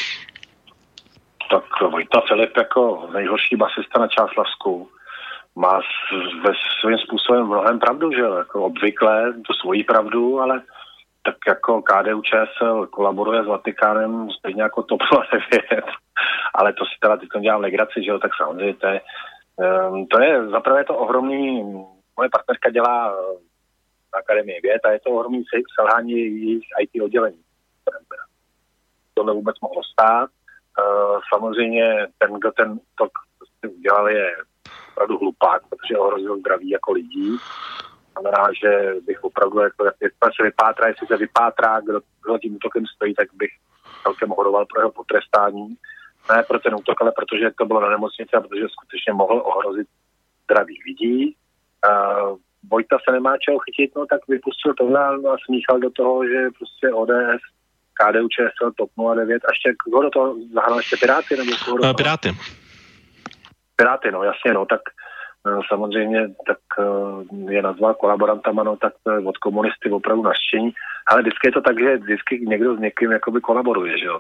Tak Vojta Filip jako nejhorší basista na Čáslavsku má ve svým způsobem mnohem pravdu, že jako obvykle tu svoji pravdu, ale tak jako KDU-ČSL kolaboruje s Vatikánem stejně jako TOP 09, ale to si teda teď dělám legraci, že jo, tak samozřejmě to je zaprvé to ohromný, moje partnerka dělá na Akademii věd a je to ohromný selhání jejich IT oddělení. Tohle vůbec mohlo stát. Samozřejmě ten, kdo ten útok udělal, je opravdu hlupák, protože ohrozil zdraví jako lidí. Znamená, že bych opravdu, jako, jestli se vypátrá, kdo tím útokem stojí, tak bych celkem horoval pro jeho potrestání. Ne pro ten útok, ale protože to bylo na nemocnici a protože skutečně mohl ohrozit zdraví lidí. Vojta se nemá čeho chytit, no tak vypustil tohle a smíchal do toho, že prostě ODS, KDU-ČSL, TOP 09 a ještě kdo do toho zahrál ještě Piráty? Nebo Piráty. Piráty, no jasně, no tak samozřejmě tak je nazval kolaborantama, no tak od komunisty opravdu naštění. Ale vždycky je to tak, že vždycky někdo s někým jakoby kolaboruje, že jo,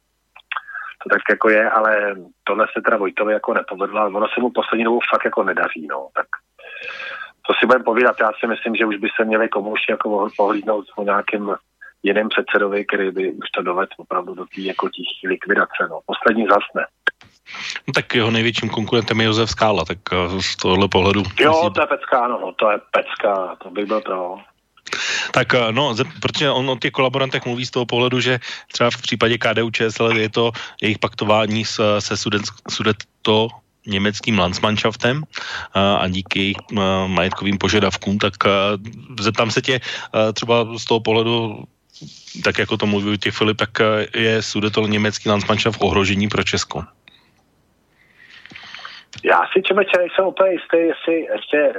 to tak jako je, ale tohle se teda Vojtovi jako nepovedlo, ono se mu poslední dobou fakt jako nedaří, no, tak to si budeme povídat, já si myslím, že už by se měli komunisti jako pohlídnout o nějakým jiným předsedovi, který by už to dovedl opravdu do té jako tichý likvidace, no, poslední zasne. No tak jeho největším konkurentem je Josef Skála, tak z tohohle pohledu... Jo, to je pecka, no, to je pecka, to bych byl pro... Tak no, protože on o těch kolaborantech mluví z toho pohledu, že třeba v případě KDU-ČSL je to jejich paktování se Sudetto německým Landsmannschaftem a díky jejich majetkovým požadavkům, tak zeptám se tě třeba z toho pohledu, tak jako to mluví těch Filip, tak je Sudetto německý Landsmannschaft ohrožení pro Česko? Já si člověče nejsem úplně jistý, jestli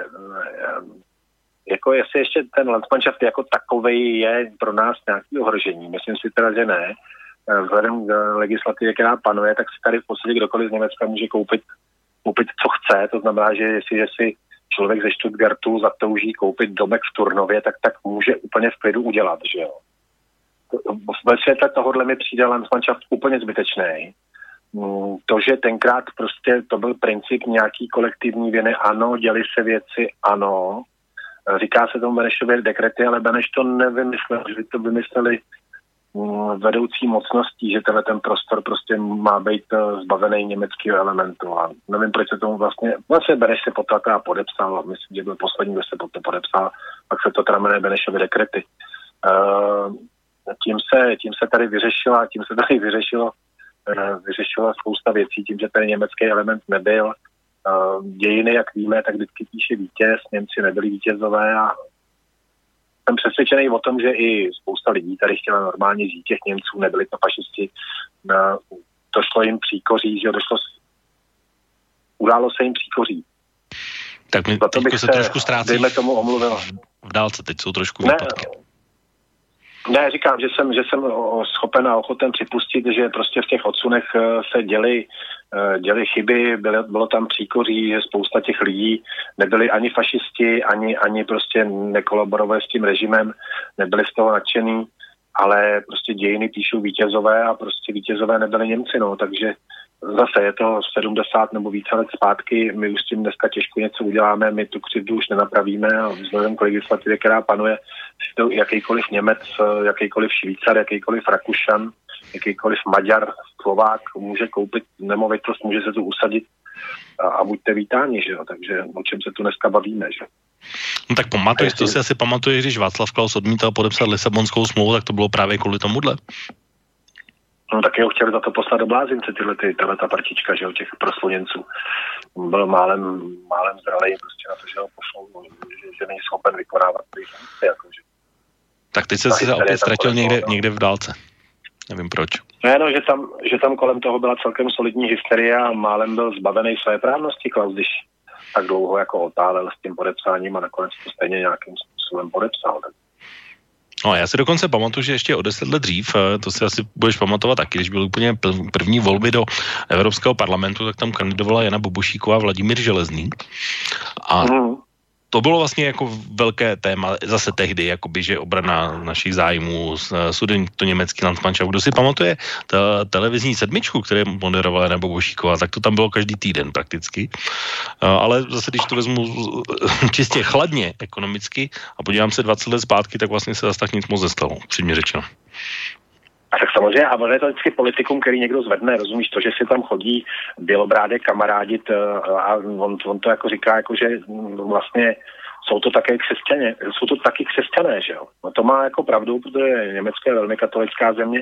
ještě ten Landsmannschaft jako takovej je pro nás nějaký ohrožení. Myslím si teda, že ne. Vzhledem k legislativě, která panuje, tak si tady v podstatě kdokoliv z Německa může koupit co chce. To znamená, že jestliže si člověk ze Stuttgartu zatouží koupit domek v Turnově, tak může úplně v klidu udělat, že jo. Ve světle tohohle mi přijde Landsmannschaft úplně zbytečný. To, že tenkrát prostě to byl princip nějaký kolektivní viny, ano, děli se věci, ano. Říká se tomu Benešově dekrety, ale Beneš to nevymyslel, že to vymysleli vedoucí mocností, že ten prostor prostě má být zbavený německého elementu. A nevím, proč se tomu vlastně Beneš se potom podepsal, myslím, že byl poslední, kdo se potom podepsal, pak se to teda jmenuje Benešovy dekrety. Tím se tady vyřešila spousta věcí, tím, že ten německý element nebyl. Dějiny, jak víme, tak vždycky píše vítěz, Němci nebyli vítězové a jsem přesvědčený o tom, že i spousta lidí tady chtěla normálně žít, těch Němců, nebyli to fašisti. Došlo jim příkoří, že událo se jim příkoří. Tak mi teďko se trošku ztrácí. Dejme tomu omluvil. V dálce teď jsou trošku výpadky. Ne, říkám, že jsem schopen a ochoten připustit, že prostě v těch odsunech se děly chyby, bylo tam příkoří, že spousta těch lidí nebyli ani fašisti, ani prostě nekolaborovali s tím režimem, nebyli z toho nadšený, ale prostě dějiny píšou vítězové a prostě vítězové nebyli Němci, no, takže zase je to 70 nebo více let zpátky, my už s tím dneska těžko něco uděláme, my tu křivdu už nenapravíme a vzhledem k legislativě, která panuje, si to jakýkoliv Němec, jakýkoliv Švýcar, jakýkoliv Rakušan, jakýkoliv Maďar, Slovák může koupit nemovitost, může se tu usadit a buďte vítáni, že jo, takže o čem se tu dneska bavíme, že? No tak to si asi pamatuješ, když Václav Klaus odmítal podepsat Lisabonskou smlouvu, tak to bylo právě kvůli tomuhle. No tak jeho chtěli za to poslat do blázince, ta partička, že jo, těch prosluněnců. Byl málem zralej prostě na to, že ho pošlou, že není schopen vykonávat ty funkce, jakože. Tak teď se opět ztratil někde v dálce. Nevím proč. No, že tam kolem toho byla celkem solidní hysterie a málem byl zbavený své právnosti Klaus, když tak dlouho jako otálel s tím podepsáním a nakonec to stejně nějakým způsobem podepsal. Tak. No já si dokonce pamatuju, že ještě o 10 let dřív, to si asi budeš pamatovat taky, když byly úplně první volby do Evropského parlamentu, tak tam kandidovala Jana Bobošíková a Vladimír Železný. A to bylo vlastně jako velké téma zase tehdy, jakoby, že obrana našich zájmů, to německý Landsmannschaft. Kdo si pamatuje televizní sedmičku, které moderovala Jana Bobošíková, tak to tam bylo každý týden prakticky. Ale zase, když to vezmu čistě chladně ekonomicky a podívám se 20 let zpátky, tak vlastně se zase tak nic moc nestalo, přímě řečeno. A tak samozřejmě, a on je to vždycky politikum, který někdo zvedne, rozumíš to, že si tam chodí Bělobrádek kamarádit a on to jako říká, jako že vlastně jsou to taky křesťané, že jo. No to má jako pravdu, protože Německo je velmi katolická země.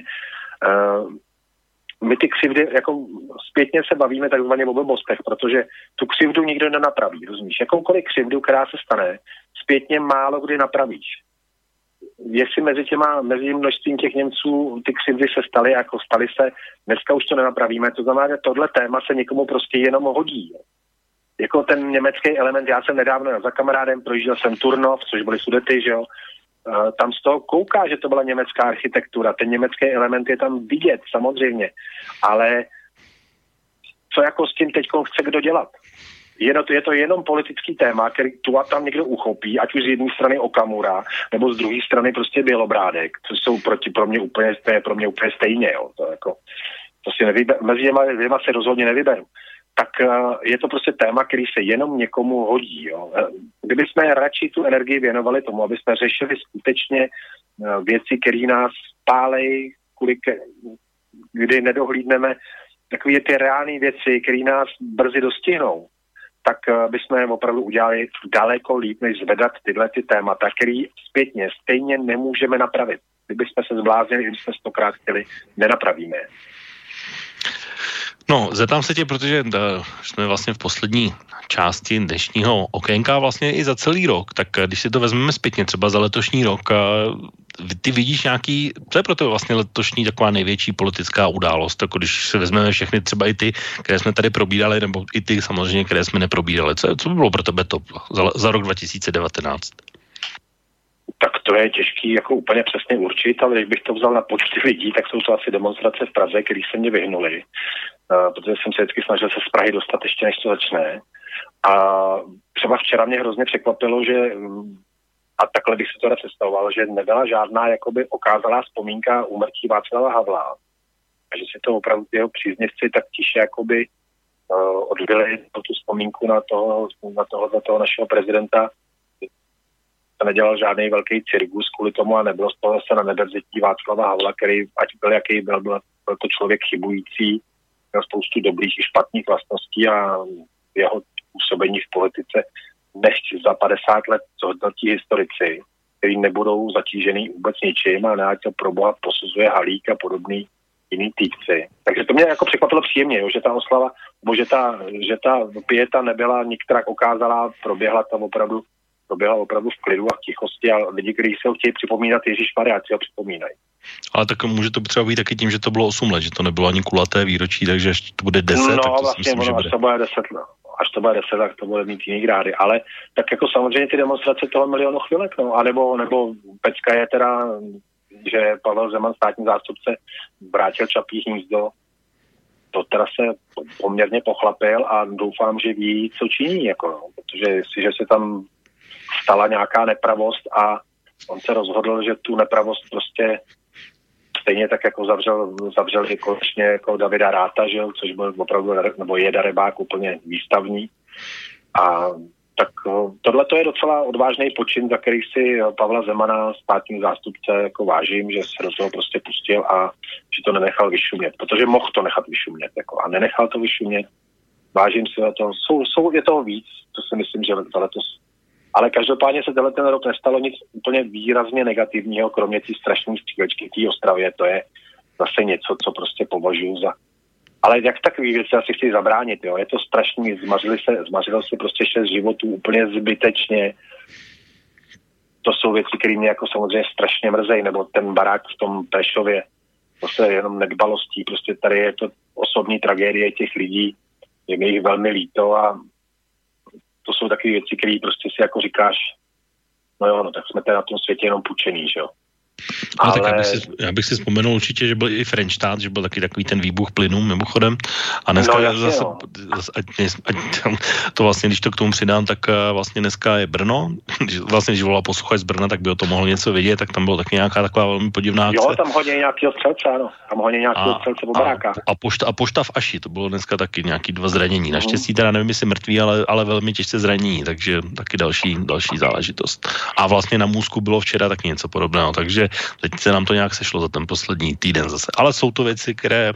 My ty křivdy, jako zpětně se bavíme takzvaně o blbostech, protože tu křivdu nikdo nenapraví, rozumíš. Jakoukoliv křivdu, která se stane, zpětně málo kdy napravíš. Jestli mezi množstvím těch Němců ty křivdy se staly, jako staly se, dneska už to nenapravíme, to znamená, že tohle téma se někomu prostě jenom hodí. Jako ten německý element, já jsem nedávno za kamarádem, projížděl jsem Turnov, což byly Sudety, že jo, tam z toho kouká, že to byla německá architektura, ten německý element je tam vidět, samozřejmě, ale co jako s tím teďko chce kdo dělat? Je to jenom politický téma, který tu a tam někdo uchopí, ať už z jedné strany Okamura, nebo z druhé strany prostě Bělobrádek, což jsou pro mě úplně stejně, jo. To si mezi dvěma se rozhodně nevyberu. Tak je to prostě téma, který se jenom někomu hodí, jo. Kdyby jsme radši tu energii věnovali tomu, aby jsme řešili skutečně věci, které nás pálej, kdy nedohlídneme takové ty reální věci, které nás brzy dostihnou, tak bychom opravdu udělali daleko líp, než zvedat tyhle ty témata, které zpětně stejně nemůžeme napravit. Kdybychom se zbláznili, kdybychom 100krát chtěli, nenapravíme. No, zeptám se tě, protože jsme vlastně v poslední části dnešního okénka vlastně i za celý rok, tak když si to vezmeme zpětně, třeba za letošní rok, ty vidíš nějaký, co je pro to vlastně letošní taková největší politická událost, jako když se vezmeme všechny, třeba i ty, které jsme tady probírali, nebo i ty samozřejmě, které jsme neprobírali. Co by bylo pro tebe top za rok 2019? Tak to je těžký jako úplně přesně určit, ale když bych to vzal na počty lidí, tak jsou to asi demonstrace v Praze, které se mě vyhnuly. protože jsem se vždycky snažil se z Prahy dostat ještě, než to začne. A třeba včera mě hrozně překvapilo, že, a takhle bych si to představoval, že nebyla žádná jakoby okázalá vzpomínka úmrtí Václava Havla. A že si to opravdu jeho příznivci tak tiše jakoby odbyli tu vzpomínku na toho našeho prezidenta. To nedělal žádný velký cirkus kvůli tomu a nebylo z toho zase na nebevzetí Václava Havla, který, ať byl jaký byl to člověk chybující, měl spoustu dobrých i špatných vlastností a jeho působení v politice nechť za 50 let zhodnotí historici, který nebudou zatížený vůbec ničím a ať to pro boha posuzuje Halík a podobný jiný týpci. Takže to mě jako překvapilo příjemně, jo, že ta oslava, nebo že ta pieta nebyla nikterak okázalá, proběhla opravdu v klidu a v tichosti a lidi, kteří se ho chtějí připomínat, Ježíšmarja, si ho připomínají. Ale tak může to třeba být taky tím, že to bylo 8 let, že to nebylo ani kulaté výročí, takže až to bude 10, no, tak to vlastně, si myslím, že bude. Až to bude 10, tak to bude mít jiný grády. Ale tak jako samozřejmě ty demonstrace toho milionu chvilek, no, a nebo pecka je teda, že Pavel Zeman, státní zástupce, vrátil Čapí hnízdo. To teda se poměrně pochlapil a doufám, že ví, co činí, jako, no, protože jestliže se tam stala nějaká nepravost a on se rozhodl, že tu nepravost prostě stejně tak jako zavřel i konečně jako Davida Ráta, že jo, což byl opravdu, nebo je darebák úplně výstavní. A tak tohle to je docela odvážný počin, za který si Pavla Zemana, státní zástupce, jako vážím, že se do toho prostě pustil a že to nenechal vyšumět, protože mohl to nechat vyšumět, jako, a nenechal to vyšumět. Vážím si to. Je toho víc, to si myslím, že letos. Ale každopádně se ten rok nestalo nic úplně výrazně negativního, kromě té strašné střílečky v té Ostravě. To je zase něco, co prostě považuji za... Ale jak takový věci asi chci zabránit, jo? Je to strašný, zmařilo se prostě 6 životů úplně zbytečně. To jsou věci, které mě jako samozřejmě strašně mrzejí, nebo ten barák v tom Prešově. To se jenom nedbalostí, prostě tady je to osobní tragédie těch lidí, je mi jich velmi líto a to jsou takové věci, které prostě si jako říkáš, no jo, no tak jsme tady na tom světě jenom půjčený, že jo. Ale tak já bych si vzpomenul určitě, že byl i Frenštát, že byl taky takový ten výbuch plynů mimochodem. A dneska zase, to vlastně, když to k tomu přidám, tak vlastně dneska je Brno. Vlastně, když volal posluchač z Brna, tak by o tom mohl něco vědět, tak tam byla taky nějaká taková velmi podivná akce. Jo, tam hodně nějakého střelce, ano. Tam hodně nějakého střelce po barákách. A pošta v Aši, to bylo dneska taky nějaký 2 zranění. Naštěstí teda nevím, jestli mrtví, ale velmi těžce zranění, takže taky další záležitost. A vlastně na Můzku bylo včera taky něco podobného, takže teď se nám to nějak sešlo za ten poslední týden zase. Ale jsou to věci, které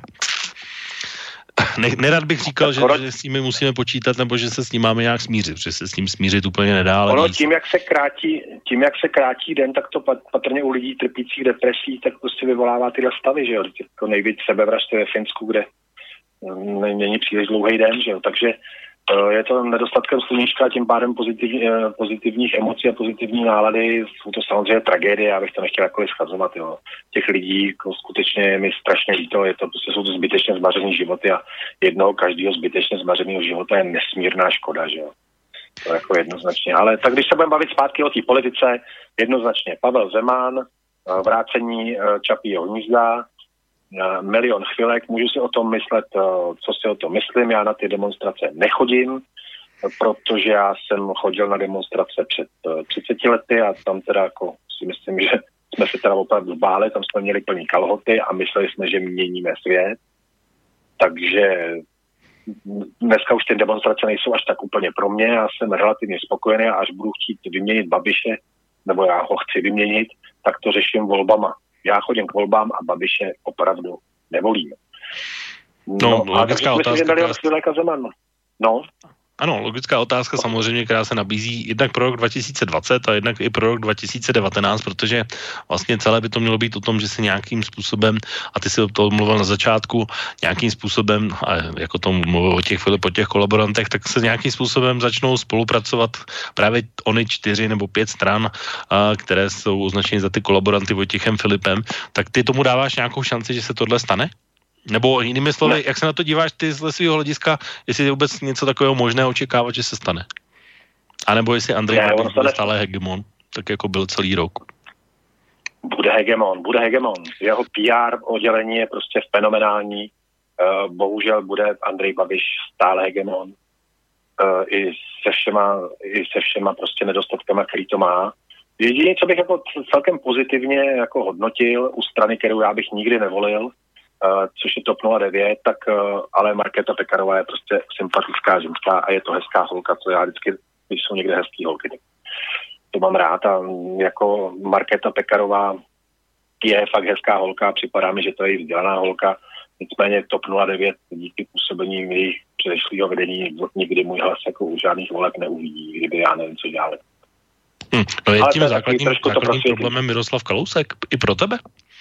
nerad bych říkal, že s nimi musíme počítat, nebo že se s ním máme nějak smířit, protože se s ním smířit úplně nedá. Ale tím, jak se krátí den, tak to patrně u lidí trpících depresí, tak prostě vyvolává tyhle stavy, že jo. Jako nejvíc sebevraždy ve Finsku, kde není příliš dlouhý den, že jo. Takže je to nedostatkem sluníčka a tím pádem pozitivních emocí a pozitivní nálady. Jsou to samozřejmě tragédie, já bych to nechtěl jakkoliv schazovat. Jo. Těch lidí jako skutečně je mi strašně líto, jsou to zbytečně zmařený životy a jednoho každého zbytečně zmařeného života je nesmírná škoda. Že jo. To jako jednoznačně. Ale tak když se budeme bavit zpátky o té politice, jednoznačně Pavel Zeman, vrácení Čapího hnízda, milion chvilek, můžu si o tom myslet, co si o tom myslím, já na ty demonstrace nechodím, protože já jsem chodil na demonstrace před 30 lety a tam teda jako si myslím, že jsme se teda opravdu báli, tam jsme měli plný kalhoty a mysleli jsme, že měníme svět, takže dneska už ty demonstrace nejsou až tak úplně pro mě, já jsem relativně spokojený a až budu chtít vyměnit Babiše, nebo já ho chci vyměnit, tak to řeším volbama. Já chodím k volbám a Babiše opravdu nevolím. No logická otázka. No. Ano, logická otázka samozřejmě, která se nabízí jednak pro rok 2020 a jednak i pro rok 2019, protože vlastně celé by to mělo být o tom, že se nějakým způsobem, a ty si o tom mluvil na začátku, nějakým způsobem, a jako tomu mluvil po těch kolaborantech, tak se nějakým způsobem začnou spolupracovat právě ony 4 nebo 5 stran, které jsou označeny za ty kolaboranty Vojtěchem Filipem, tak ty tomu dáváš nějakou šanci, že se tohle stane? Nebo jinými slovy, jak se na to díváš ty z svého hlediska, jestli je vůbec něco takového možné očekávat, že se stane? A nebo jestli Andrej Babiš bude stále hegemon, tak jako byl celý rok? Bude hegemon. Jeho PR oddělení je prostě fenomenální. bohužel bude Andrej Babiš stále hegemon i se všema prostě nedostatkama, který to má. Jediné, co bych jako celkem pozitivně jako hodnotil u strany, kterou já bych nikdy nevolil, což je TOP 09, tak ale Markéta Pekarová je prostě sympatická ženská a je to hezká holka, co já vždycky, když jsou někde hezký holky, to mám rád a jako Markéta Pekarová je fakt hezká holka, připadá mi, že to je vzdělaná holka, nicméně TOP 09 díky působení jejich předešlého vedení nikdy můj hlas jako u žádných voleb neuvidí, kdyby já nevím, co dělali. No je tím základním problémem Miroslav Kalousek i pro tebe?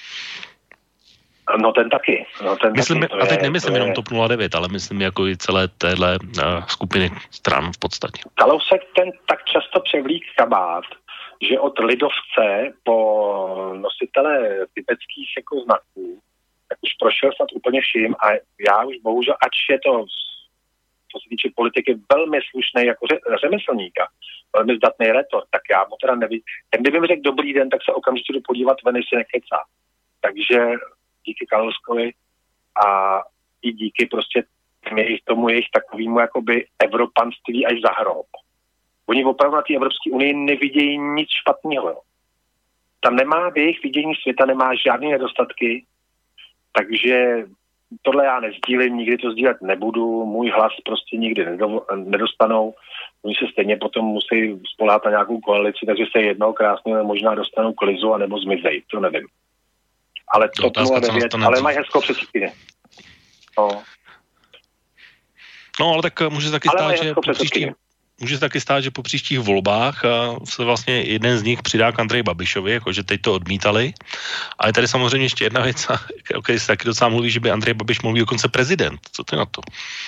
No ten taky. Myslím, a teď nemyslím jenom TOP 09, ale myslím jako i celé téhle skupiny stran v podstatě. Kalousek ten tak často převlík kabát, že od lidovce po nositele tibetských jako znaků, tak už prošel snad úplně vším a já už bohužel, ač je to co se týče politiky velmi slušný jako řemeslníka, velmi zdatný retor, tak já mu teda nevím. Ten kdyby mi řekl dobrý den, tak se okamžitě jdu podívat ven, si nekecá. Takže díky Kalouskovi a i díky prostě tomu jejich takovému jakoby evropanství až za hrob. Oni opravdu na té Evropské unii nevidějí nic špatného. Jo. Tam nemá v jejich vidění světa, nemá žádné nedostatky, takže tohle já nezdílím, nikdy to sdílet nebudu, můj hlas prostě nikdy nedostanou, oni se stejně potom musí spoléhat na nějakou koalici, takže se jednou krásně možná dostanou k Lizu anebo zmizej, to nevím. Ale to 09, ale mají hezkou předsedkyně. No, ale tak může se taky stát, že po příštích volbách se vlastně jeden z nich přidá k Andreji Babišovi, jakože teď to odmítali. A je tady samozřejmě ještě jedna věc, o které se taky docela mluví, že by Andrej Babiš mohl být dokonce prezident. Co ty na to?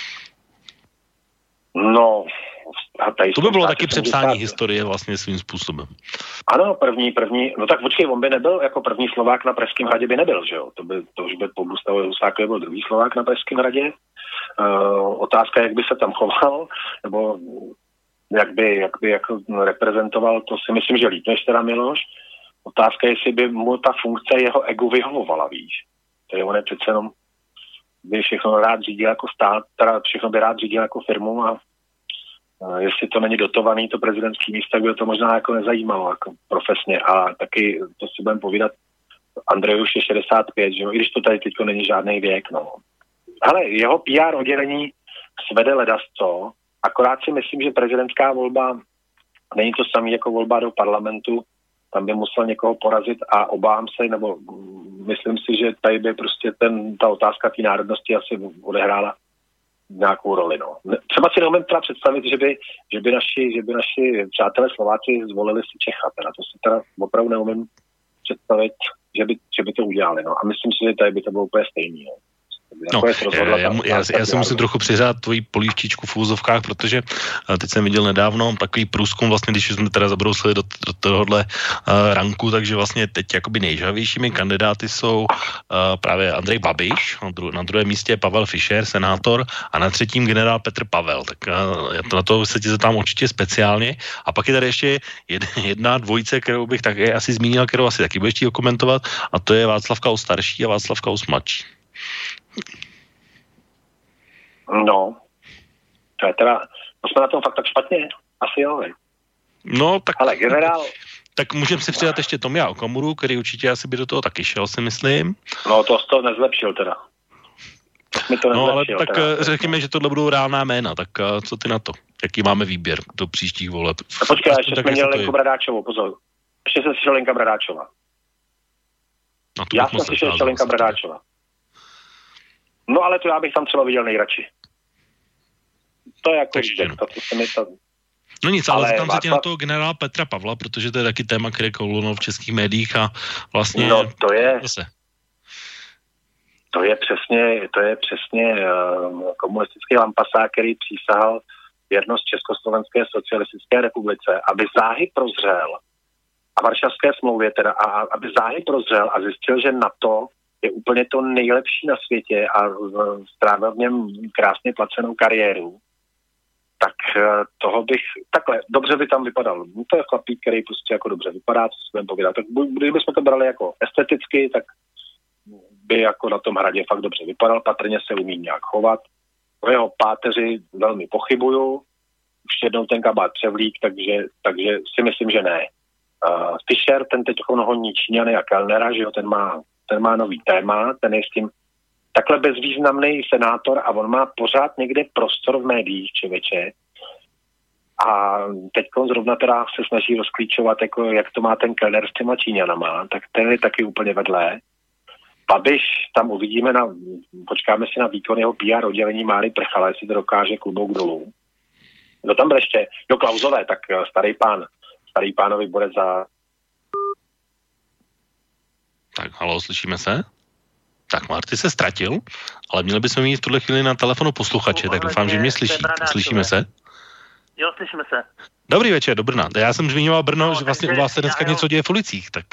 No, to by bylo taky přepsání historie vlastně svým způsobem. Ano, první, no tak počkej, on by nebyl jako první Slovák na Pražském hradě by nebyl, že jo? To už by po Gustavovi Husákovi byl druhý Slovák na Pražském hradě. Otázka, jak by se tam choval, nebo jak by jako reprezentoval, to si myslím, že líp než teda Miloš. Otázka je, jestli by mu ta funkce jeho ego vyhovovala, víš. To je on je přece jenom by všechno rád řídil jako stát, teda všechno by rád řídil jako firmu a jestli to není dotovaný, to prezidentský místo, tak by to možná jako nezajímalo jako profesně a taky to si budeme povídat, Andrej už je 65, že jo, i když to tady teďko není žádný věk, no. Hele, jeho PR oddělení svede ledasco, akorát si myslím, že prezidentská volba není to samý jako volba do parlamentu, tam by musel někoho porazit a obávám se, nebo myslím si, že tady by prostě ta otázka té národnosti asi odehrála nějakou roli, no. Třeba si neumím teda představit, že by naši přátelé Slováci zvolili si Čecha, teda to si teda opravdu neumím představit, že by to udělali, no. A myslím si, že tady by to bylo úplně stejný, no. No, já si musím trochu přiřát tvojí polívčičku v úzovkách, protože teď jsem viděl nedávno takový průzkum, vlastně, když jsme teda zabrousili do tohohle ranku, takže vlastně teď jakoby nejžhavějšími kandidáty jsou právě Andrej Babiš, na druhém místě Pavel Fischer, senátor, a na třetím generál Petr Pavel. Tak na to se ti zeptám určitě speciálně. A pak je tady ještě jedna dvojice, kterou bych také asi zmínil, kterou asi taky budeš chtít komentovat, a to je Václav Klaus starší a Václav Klaus mladší. No, to je teda, to jsme na tom fakt tak špatně, asi jo, ne? No, tak... Ale generál... Tak můžeme si přidat ještě Tomia Okamuru, který určitě asi by do toho taky šel, si myslím. No, to nezlepšil teda. No, ale tak řekněme, že tohle budou reálná jména, tak co ty na to? Jaký máme výběr do příštích voleb? A počkej, ještě jsme měli Lenku Bradáčovou, pozor. Ještě jsem slyšel Lenka Bradáčová. No, já jsem slyšel ještě Lenka Bradáčová. No ale to já bych tam třeba viděl nejradši. To je jako No nic, ale tam se tě na toho generála Petra Pavla, protože to je taky téma, které kolunou v českých médiích a vlastně... No to je přesně komunistický lampasák, který přísahal věrnost Československé socialistické republice, aby záhy prozřel a Varšavské smlouvě teda, a aby záhy prozřel a zjistil, že NATO je úplně to nejlepší na světě a strávil v něm krásně placenou kariéru, tak toho bych, takhle, dobře by tam vypadal. To je chlapík, který prostě jako dobře vypadá, co si budeme povídat. Tak kdybychom to brali jako esteticky, tak by jako na tom Hradě fakt dobře vypadal, patrně se umí nějak chovat. O jeho páteři velmi pochybuju, už jednou ten kabát převlík, takže si myslím, že ne. Fischer, ten teď honí Číňany a Kellnera, že jo, ten má nový téma, ten je s tím takhle bezvýznamný senátor a on má pořád někde prostor v médiích, člověče. A teď zrovna teda se snaží rozklíčovat, jako jak to má ten Kellner s těma Číňanama, tak ten je taky úplně vedle. Babiš, tam uvidíme, počkáme si na výkon jeho PR oddělení Máry Prchala, jestli to dokáže klobouk dolů. No tam byl ještě, Klausové, tak starý pánovi bude za... Tak, halo, slyšíme se? Tak, Marty se ztratil, ale měli bychom mít v tuhle chvíli na telefonu posluchače, tak doufám, že mě slyší. Slyšíme se? Jo, slyšíme se. Dobrý večer, do Brna. Já jsem zmiňoval Brno, že vlastně u vás se dneska něco děje v ulicích, tak...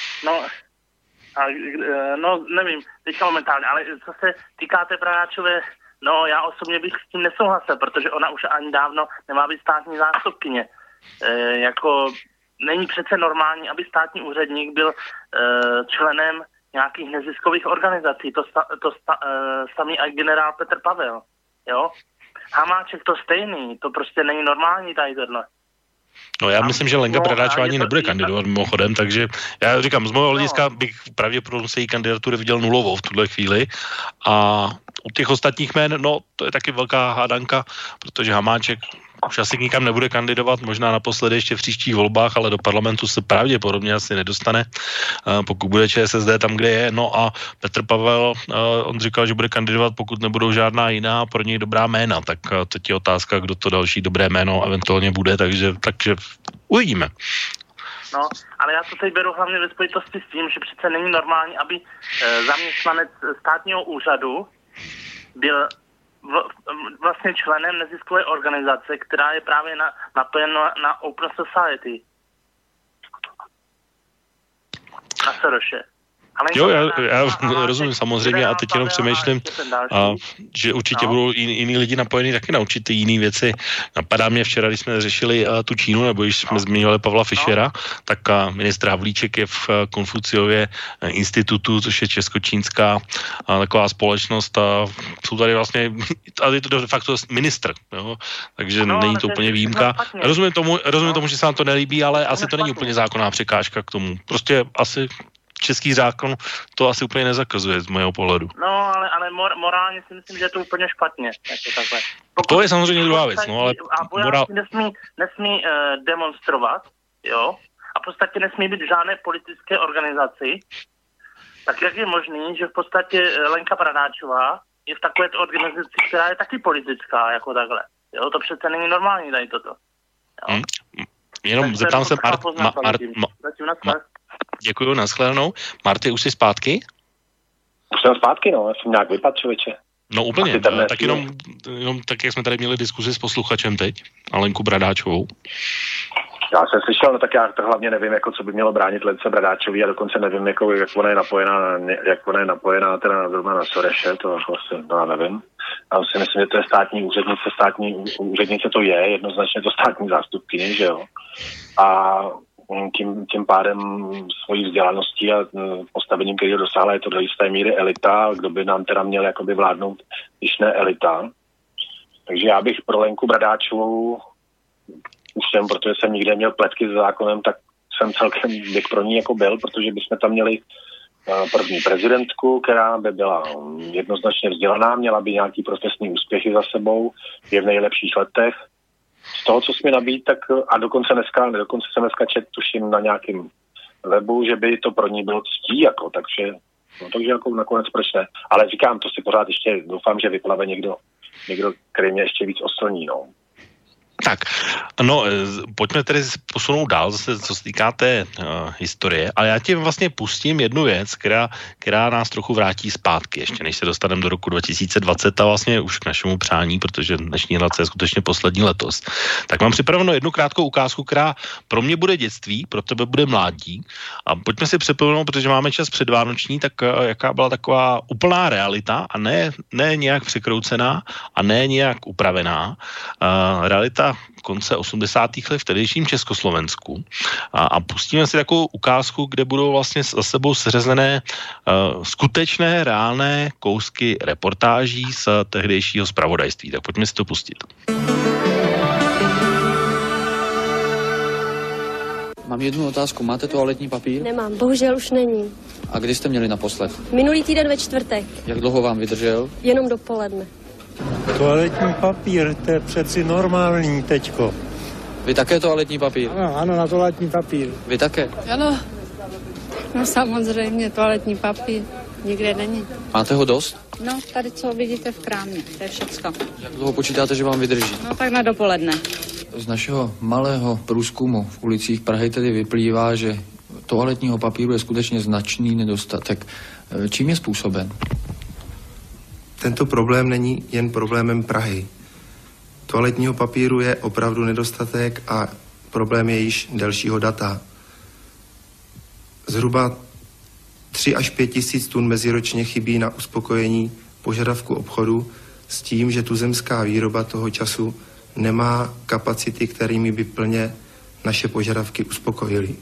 No, nevím, teďka momentálně, ale co se týká té Bradáčové, no já osobně bych s tím nesouhlasil, protože ona už ani dávno nemá být státní zástupkyně. Jako není přece normální, aby státní úředník byl členem nějakých neziskových organizací. To samý i generál Petr Pavel, jo? Hamáček to stejný, to prostě není normální tady tohle. No já myslím, že Lenka Bradáčová ani nebude kandidovat mimochodem, takže já říkám, z mého hlediska bych pravděpodobně se její kandidatury viděl nulovou v tuhle chvíli a u těch ostatních jmén, no to je taky velká hádanka, protože Hamáček už asi nikam nebude kandidovat, možná naposledy ještě v příštích volbách, ale do parlamentu se pravděpodobně asi nedostane, pokud bude ČSSD tam, kde je. No a Petr Pavel, on říkal, že bude kandidovat, pokud nebudou žádná jiná pro něj dobrá jména, tak teď je otázka, kdo to další dobré jméno eventuálně bude, takže uvidíme. No, ale já to teď beru hlavně ve spojitosti s tím, že přece není normální, aby zaměstnanec státního úřadu byl vlastně členem neziskové organizace, která je právě napojena na Open Society. Na Soroše. Jo, já rozumím samozřejmě a teď jenom přemýšlím, že určitě budou jiní lidi napojení taky na určitě jiné věci. Napadá mě včera, když jsme řešili tu Čínu, nebo když jsme zmiňovali Pavla Fischera, tak ministr Havlíček je v Konfuciově institutu, což je česko-čínská taková společnost a jsou tady vlastně, ale je to de facto ministr, jo? Takže není to úplně výjimka. Rozumím tomu, že se vám to nelíbí, ale asi to není úplně zákonná překážka k tomu. Prostě asi český zákon to asi úplně nezakazuje z mého pohledu. No, ale morálně si myslím, že je to úplně špatně. Jako takhle. To je samozřejmě druhá věc. No, ale vojáci nesmí demonstrovat, jo, a v podstatě nesmí být v žádné politické organizaci. Tak jak je možný, že v podstatě Lenka Bradáčová je v takové organizaci, která je taky politická, jako takhle. Jo, to přece není normální tady toto. Jenom zeptám se Děkuju, nashledanou. Marty, už jsi zpátky? Už jsem zpátky, no, já jsem nějak vypadl, člověče. No úplně, tak jenom tak, jak jsme tady měli diskuzi s posluchačem teď, a Lenku Bradáčovou. Já jsem slyšel, no tak já to hlavně nevím, jako co by mělo bránit Lence Bradáčový a dokonce nevím, jako, jak ona je napojená teda zrovna na Soreše, to vlastně, no já nevím. Já si myslím, že to je státní úřednice to je, jednoznačně to státní zástupkyně, že jo. A tím pádem svojí vzdělaností a postavením, který dosáhla, je to do jisté míry elita, kdo by nám teda měl jakoby vládnout, když ne elita. Takže já bych pro Lenku Bradáčovou protože jsem nikde měl pletky s zákonem, tak jsem celkem bych pro ní jako byl, protože bychom tam měli první prezidentku, která by byla jednoznačně vzdělaná, měla by nějaký profesní úspěchy za sebou, je v nejlepších letech. Z toho, co jsme nabít, tak a dokonce jsem dneska tuším na nějakém webu, že by to pro ní bylo ctí, jako, takže jako nakonec proč ne. Ale říkám, to si pořád ještě doufám, že vyplave někdo, který mě ještě víc oslní, no. Tak, no, pojďme tedy posunout dál, zase, co se týká té historie, ale já ti vlastně pustím jednu věc, která nás trochu vrátí zpátky, ještě než se dostaneme do roku 2020 a vlastně už k našemu přání, protože dnešní relace je skutečně poslední letos. Tak mám připravenou jednu krátkou ukázku, která pro mě bude dětství, pro tebe bude mládí a pojďme si připomenout, protože máme čas předvánoční, tak jaká byla taková úplná realita a ne nějak překroucená a ne nějak upravená. Realita konce 80. let v tehdejším Československu a pustíme si takovou ukázku, kde budou vlastně za sebou seřazené skutečné, reálné kousky reportáží z tehdejšího zpravodajství. Tak pojďme si to pustit. Mám jednu otázku. Máte toaletní papír? Nemám, bohužel už není. A kdy jste měli naposled? Minulý týden ve čtvrtek. Jak dlouho vám vydržel? Jenom dopoledne. Toaletní papír, to je přeci normální teďko. Vy také toaletní papír? Ano, na toaletní papír. Vy také? Ano, no samozřejmě, toaletní papír nikde není. Máte ho dost? No, tady co vidíte v krámě, to je všecko. Jak dlouho počítáte, že vám vydrží? No, tak na dopoledne. Z našeho malého průzkumu v ulicích Prahy tedy vyplývá, že toaletního papíru je skutečně značný nedostatek. Čím je způsoben? Tento problém není jen problémem Prahy. Toaletního papíru je opravdu nedostatek a problém je již delšího data. Zhruba 3 až 5 tisíc tun meziročně chybí na uspokojení požadavku obchodu s tím, že tuzemská výroba toho času nemá kapacity, kterými by plně naše požadavky uspokojily.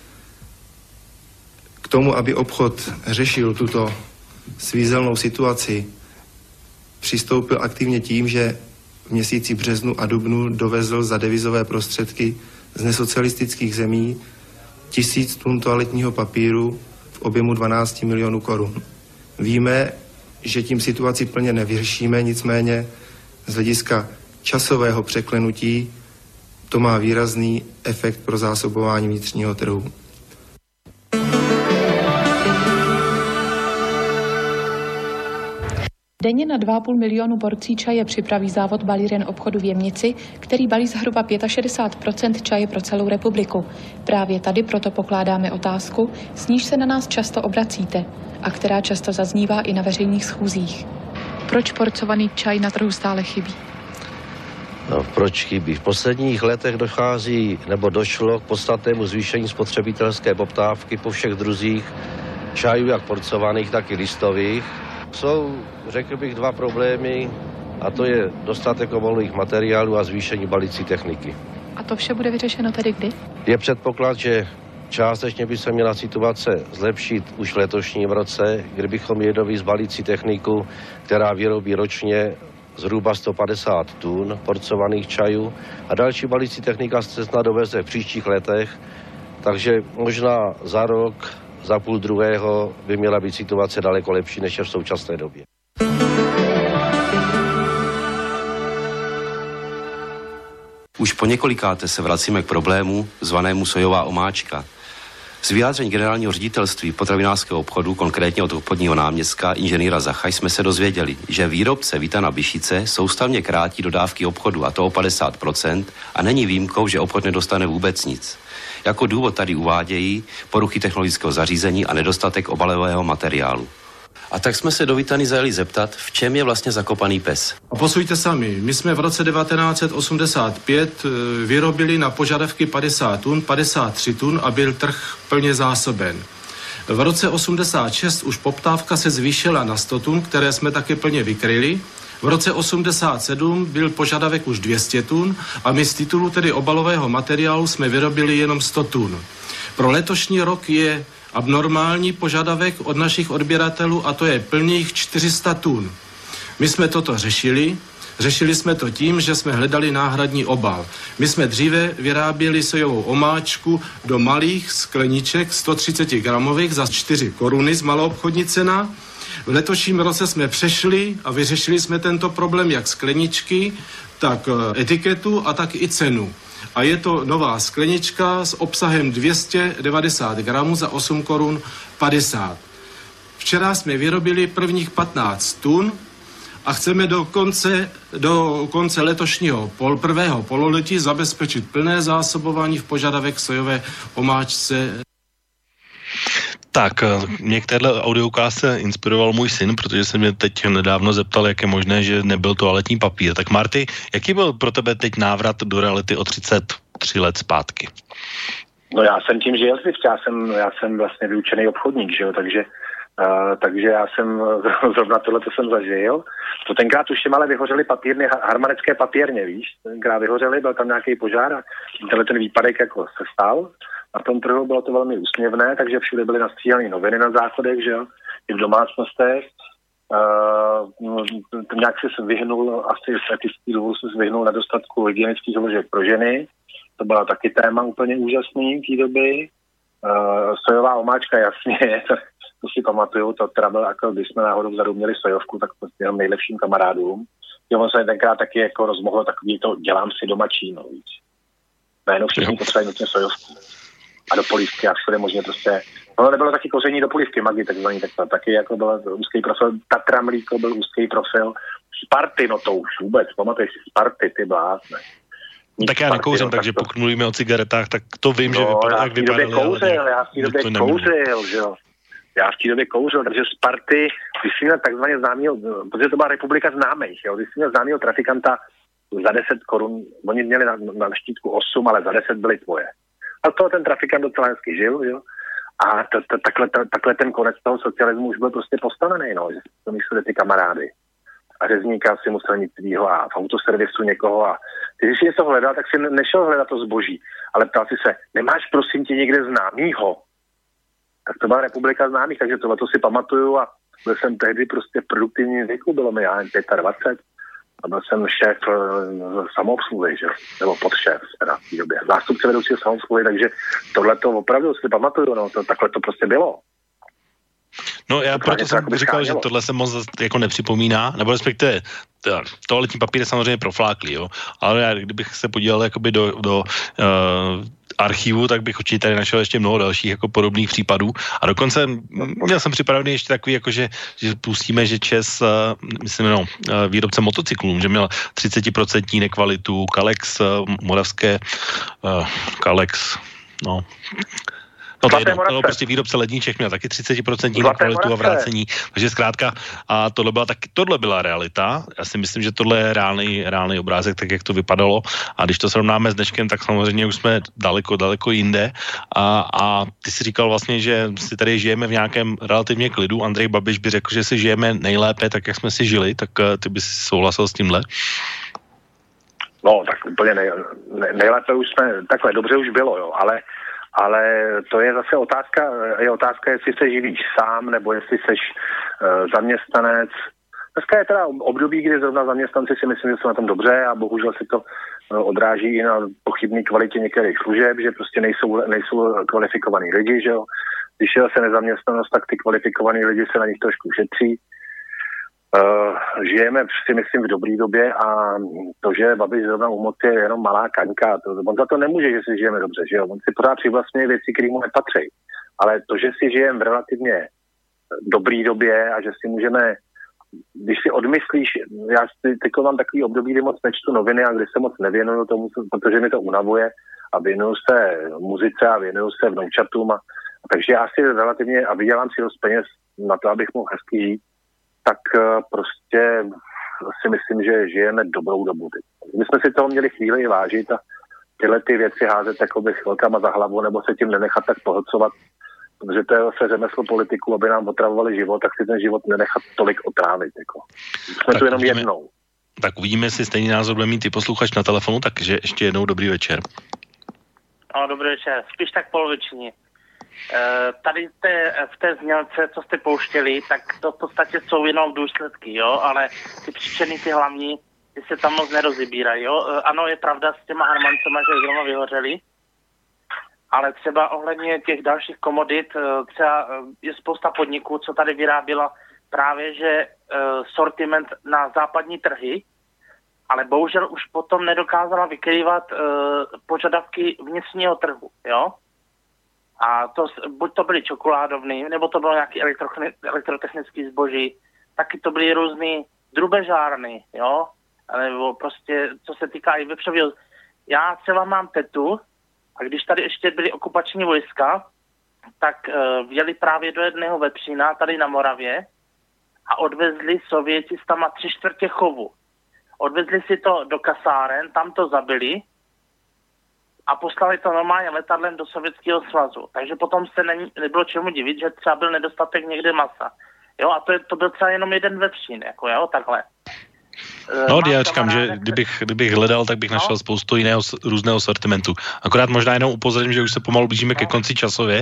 K tomu, aby obchod řešil tuto svízelnou situaci, přistoupil aktivně tím, že v měsíci březnu a dubnu dovezl za devizové prostředky z nesocialistických zemí 1000 tun toaletního papíru v objemu 12 milionů korun. Víme, že tím situaci plně nevyřešíme, nicméně z hlediska časového překlenutí to má výrazný efekt pro zásobování vnitřního trhu. Denně na 2,5 milionu porcí čaje připraví závod Balíren obchodu v Jemnici, který balí zhruba 65% čaje pro celou republiku. Právě tady proto pokládáme otázku, s níž se na nás často obracíte a která často zaznívá i na veřejných schůzích. Proč porcovaný čaj na trhu stále chybí? No, proč chybí? V posledních letech dochází nebo došlo k podstatnému zvýšení spotřebitelské poptávky po všech druzích čajů, jak porcovaných, tak i listových. Jsou, řekl bych, 2 problémy, a to je dostatek obalových materiálů a zvýšení balící techniky. A to vše bude vyřešeno tedy kdy? Je předpoklad, že částečně by se měla situace zlepšit už v letošním roce, kdybychom měli dovízt balící techniku, která vyrobí ročně zhruba 150 tun porcovaných čajů a další balící technika se snad doveze v příštích letech, takže možná za rok, za půl druhého by měla být situace daleko lepší, než je v současné době. Už po několikáté se vracíme k problému zvanému sojová omáčka. Z vyjádření generálního ředitelství potravinářského obchodu, konkrétně od obchodního náměstka inženýra Zacha, jsme se dozvěděli, že výrobce Vita na Byšice soustavně krátí dodávky obchodu, a to o 50%, a není výjimkou, že obchod nedostane vůbec nic. Jako důvod tady uvádějí poruchy technologického zařízení a nedostatek obalového materiálu. A tak jsme se do Vitany zajeli zeptat, v čem je vlastně zakopaný pes. A posujte sami, my jsme v roce 1985 vyrobili na požadavky 50 tun, 53 tun a byl trh plně zásoben. V roce 86 už poptávka se zvýšila na 100 tun, které jsme také plně vykryli. V roce 87 byl požadavek už 200 tun a my z titulu tedy obalového materiálu jsme vyrobili jenom 100 tun. Pro letošní rok je abnormální požadavek od našich odběratelů a to je plných 400 tun. My jsme toto řešili. Řešili jsme to tím, že jsme hledali náhradní obal. My jsme dříve vyráběli sojovou omáčku do malých skleniček 130 gramových za 4 koruny z maloobchodní cena. V letošním roce jsme přešli a vyřešili jsme tento problém jak skleničky, tak etiketu a tak i cenu. A je to nová sklenička s obsahem 290 gramů za 8 korun 50. Včera jsme vyrobili prvních 15 tun a chceme do konce letošního prvého pololetí zabezpečit plné zásobování v požadavek sojové omáčce. Tak, mě k téhle audioukázce inspiroval můj syn, protože se mě teď nedávno zeptal, jak je možné, že nebyl toaletní papír. Tak Marty, jaký byl pro tebe teď návrat do reality o 33 let zpátky? No já jsem tím žil, já jsem vlastně vyučený obchodník, že jo, takže Takže já jsem zrovna tohleto jsem zažil. To tenkrát tuším, ale vyhořely papírny, harmanické papírně, víš? Tenkrát vyhořely, byl tam nějaký požár a ten výpadek jako se stal. Na tom trhu bylo to velmi úsměvné, takže všude byly nastříhané noviny na záchodech, že jo? I v domácnostech. Nějak se vyhnul, asi z etických důvodů se vyhnul nedostatku hygienických vložek pro ženy. To byla taky téma úplně úžasný v té doby. Sojová omáčka, jasně, to si pamatuju, to teda bylo jako, když jsme náhodou vzadu měli sojovku, tak prostě jenom nejlepším kamarádům. On se tenkrát taky jako rozmohlo takový to dělám si doma číno, víc. Najednou všichni potřebují nutně sojovku. A do polívky a všude možně prostě. No nebylo taky koření do polívky, Magi takzvaný, tak to taky jako byl úzký profil. Tatra mlíko byl úzký profil. Sparty, no to už vůbec, pamatuješ si Sparty, ty blázne. Tak já nekouřím, takže pokud mluvíme o cigaretách, tak to vím, že vypadá, jak vypadaly. Já v té době kouřil, že jo. Já v té době kouřil, takže Sparty, když jsi měl takzvaně známýho, protože to byla republika známých, jo, když jsi měl známýho trafikanta za 10 korun, oni měli na štítku 8, ale za 10 byly tvoje. A to ten trafikant docela hezky žil, jo. A takhle ten konec toho socialismu už byl prostě postavený, no, že to mysleli ty kamarády. A řezníka si musel mít svýho a v autoservisu někoho a když si něco hledal, tak si nešel hledat to zboží, ale ptal si se, nemáš prosím tě někde známýho? Tak to byla republika známých, takže tohle si pamatuju a byl jsem tehdy prostě v produktivním věku, bylo mi já 25 a byl jsem šéf samoobsluhy, že? Nebo podšéf teda v té době. Zástupce vedoucího samoobsluhy, takže tohle to opravdu si pamatuju, no, takhle to prostě bylo. No já proto jsem říkal, že tohle se moc jako nepřipomíná, nebo respektive toaletní papír je samozřejmě profláklý, jo, ale já, kdybych se podíval jakoby do archivu, tak bych určitě tady našel ještě mnoho dalších jako podobných případů a dokonce měl jsem připravený ještě takový, jako že pustíme, že ČES, myslím, výrobce motocyklů, že měl 30% nekvalitu, Kalex, moravské Kalex, no... No to je prostě výrobce ledniček měl taky 30% na kvalitu a vrácení, takže zkrátka a tohle byla realita. Já si myslím, že tohle je reálný obrázek, tak jak to vypadalo a když to srovnáme s dneškem, tak samozřejmě už jsme daleko jinde a ty si říkal vlastně, že si tady žijeme v nějakém relativně klidu. Andrej Babiš by řekl, že si žijeme nejlépe tak, jak jsme si žili, tak ty bys souhlasil s tímhle? No, tak úplně nejlépe už jsme, takhle dobře už bylo, jo, ale to je zase otázka, jestli se živíš sám, nebo jestli seš zaměstnanec. Dneska je teda období, kdy zrovna zaměstnanci si myslím, že jsou na tom dobře a bohužel se to odráží i na pochybné kvalitě některých služeb, že prostě nejsou kvalifikovaní lidi, že jo. Když je zase nezaměstnanost, tak ty kvalifikovaní lidi se na nich trošku šetří. Žijeme si myslím v dobrý době a to, že Babiš zrovna u moci je jenom malá kaňka, on za to nemůže, že si žijeme dobře, že jo, on si pořád přivlastňuje věci, které mu nepatří, ale to, že si žijeme v relativně dobrý době a že si můžeme, když si odmyslíš, já teď mám takový období, kdy moc nečtu noviny a kdy se moc nevěnuju tomu, protože mi to unavuje a věnuju se muzice a věnuju se vnoučatům a takže já si relativně a vydělám si dost peněz na to, abych mohl hezky žít, tak prostě si myslím, že žijeme dobrou dobu. My jsme si toho měli chvíli i vážit a tyhle ty věci házet jakoby chvilkama za hlavu nebo se tím nenechat tak pohlcovat, protože to je zase řemeslo politiků, aby nám otravovali život, tak si ten život nenechat tolik otrávit. Jako. Jsme tak tu jenom jednou. Tak uvidíme, jestli stejný názor bude mít ty posluchač na telefonu, takže ještě jednou dobrý večer. No, dobrý večer. Spíš tak poloviční. Tady v té znělce, co jste pouštěli, tak to v podstatě jsou jenom důsledky, jo, ale ty příčiny, ty hlavní, ty se tam moc nerozebírají, jo. Ano, je pravda s těma harmancema, že zrovna vyhořeli, ale třeba ohledně těch dalších komodit, třeba je spousta podniků, co tady vyráběla právě, že sortiment na západní trhy, ale bohužel už potom nedokázala vykrývat požadavky vnitřního trhu, jo. A to, buď to byly čokoládovny, nebo to bylo nějaký elektrotechnický zboží, taky to byly různý drubežárny, jo, nebo prostě, co se týká i vepřového. Já třeba mám tetu a když tady ještě byly okupační vojska, tak vjeli právě do jedného vepřína tady na Moravě a odvezli Sověti s tam 3/4 chovu. Odvezli si to do kasáren, tam to zabili a poslali to normálně letadlem do Sovětského svazu. Takže potom se nebylo čemu divit, že třeba byl nedostatek někde masa. Jo, a to byl třeba jenom jeden vepřín, jako jo, takhle. No, já říkám, že kdybych hledal, tak bych našel spoustu jiného různého sortimentu. Akorát možná jenom upozorním, že už se pomalu blížíme ke konci časově,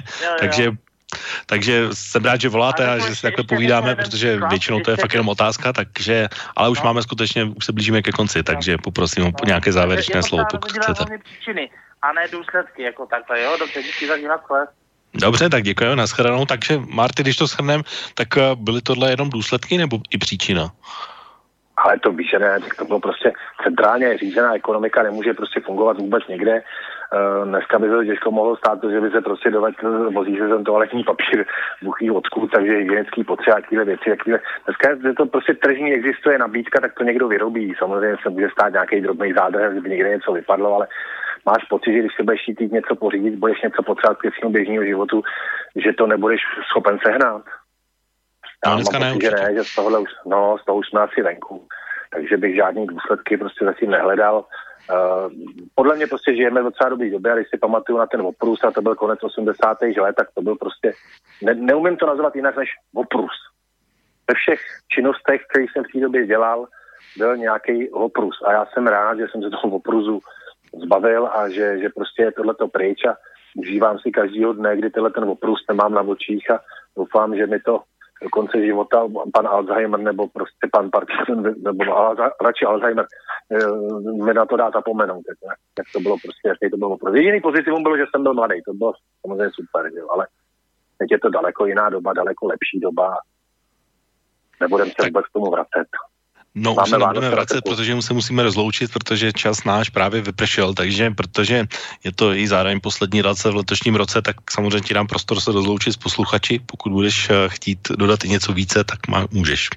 takže jsem rád, že voláte a že si takhle povídáme, protože většinou to je fakt jenom otázka, takže, ale už máme skutečně, už se blížíme ke konci, takže poprosím o nějaké závěrečné slovo, pokud chcete. Příčiny a ne důsledky, jako takhle, jo, dobře, díky za dívat. Dobře, tak děkujeme, nashledanou. Takže Marty, když to shrneme, tak byly tohle jenom důsledky nebo i příčina? Ale to víš, že ne, to bylo prostě centrálně řízená ekonomika, nemůže prostě fungovat vůbec někde. Dneska by se to těžko mohlo stát, že by se prostě vozí se ten toaletní papír buchý odkud, takže hygienický potřeba, jakýhle věci, Dneska je to prostě tržní, existuje nabídka, tak to někdo vyrobí. Samozřejmě se může stát nějaký drobný zádrhel, kdyby někde něco vypadlo, ale máš pocit, že když se budeš chtít něco pořídit, budeš něco potřebovat k svým běžného životu, že to nebudeš schopen sehnat. Já mám pocit, že ne, že z toho už jsme asi venku. Takže bych žádný důsledky prostě zatím nehledal. Podle mě prostě žijeme v docela dobrý době, a když si pamatuju na ten oprus, a to byl konec 80. let, tak to byl prostě, neumím to nazvat jinak než oprus. Ve všech činnostech, které jsem v té době dělal, byl nějaký oprus. A já jsem rád, že jsem se toho oprusu zbavil a že prostě je tohleto pryč a užívám si každýho dne, kdy ten oprus nemám na očích a doufám, že mi to do konce života pan Alzheimer nebo prostě pan Parkinson nebo radši Alzheimer mi na to dá zapomenout, jak to bylo prostě, jaký to bylo. Jediný pozitivum bylo, že jsem byl mladý, to bylo samozřejmě super, ale teď je to daleko jiná doba, daleko lepší doba. Nebudeme se vůbec k tomu vracet. No, už se nebudeme vracet, protože se musíme rozloučit, protože čas náš právě vypršel, takže protože je to i zároveň poslední relace v letošním roce, tak samozřejmě ti dám prostor se rozloučit s posluchači. Pokud budeš chtít dodat i něco více, tak můžeš.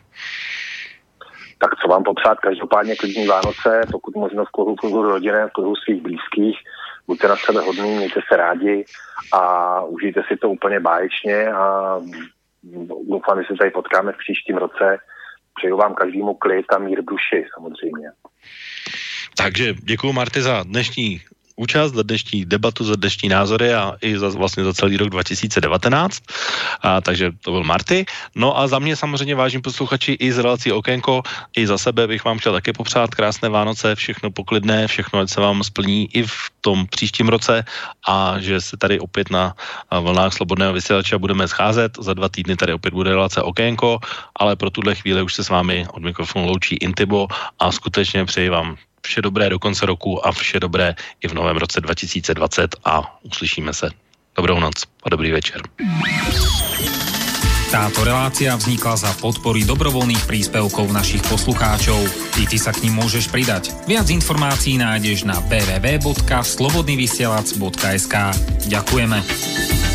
Tak co vám popřát, každopádně klidný Vánoce, pokud možno v kruhu rodiny, v kruhu svých blízkých, buďte na sebe hodní, mějte se rádi a užijte si to úplně báječně a doufám, že se tady potkáme v příštím roce. Přeju vám každému klid a mír v duši, samozřejmě. Takže děkuju, Marty, za dnešní účast, za dnešní debatu, za dnešní názory a i vlastně za celý rok 2019. Takže to byl Marty. No a za mě samozřejmě, vážení posluchači, i z relací Okénko, i za sebe bych vám chtěl také popřát krásné Vánoce, všechno poklidné, všechno, ať se vám splní i v tom příštím roce a že se tady opět na vlnách Slobodného vysílače budeme scházet. Za 2 týdny tady opět bude relace Okénko, ale pro tuhle chvíli už se s vámi od mikrofonu loučí Intibo a skutečně přeji vám vše dobré do konce roku a vše dobré i v novém roce 2020 a uslyšíme se. Dobrou noc a dobrý večer. Táto relácia vznikla za podpory dobrovoľných príspevkov našich poslucháčov. I ty sa k nim môžeš pridať. Viac informácií nájdeš na www.slobodnyvysielac.sk. Ďakujeme.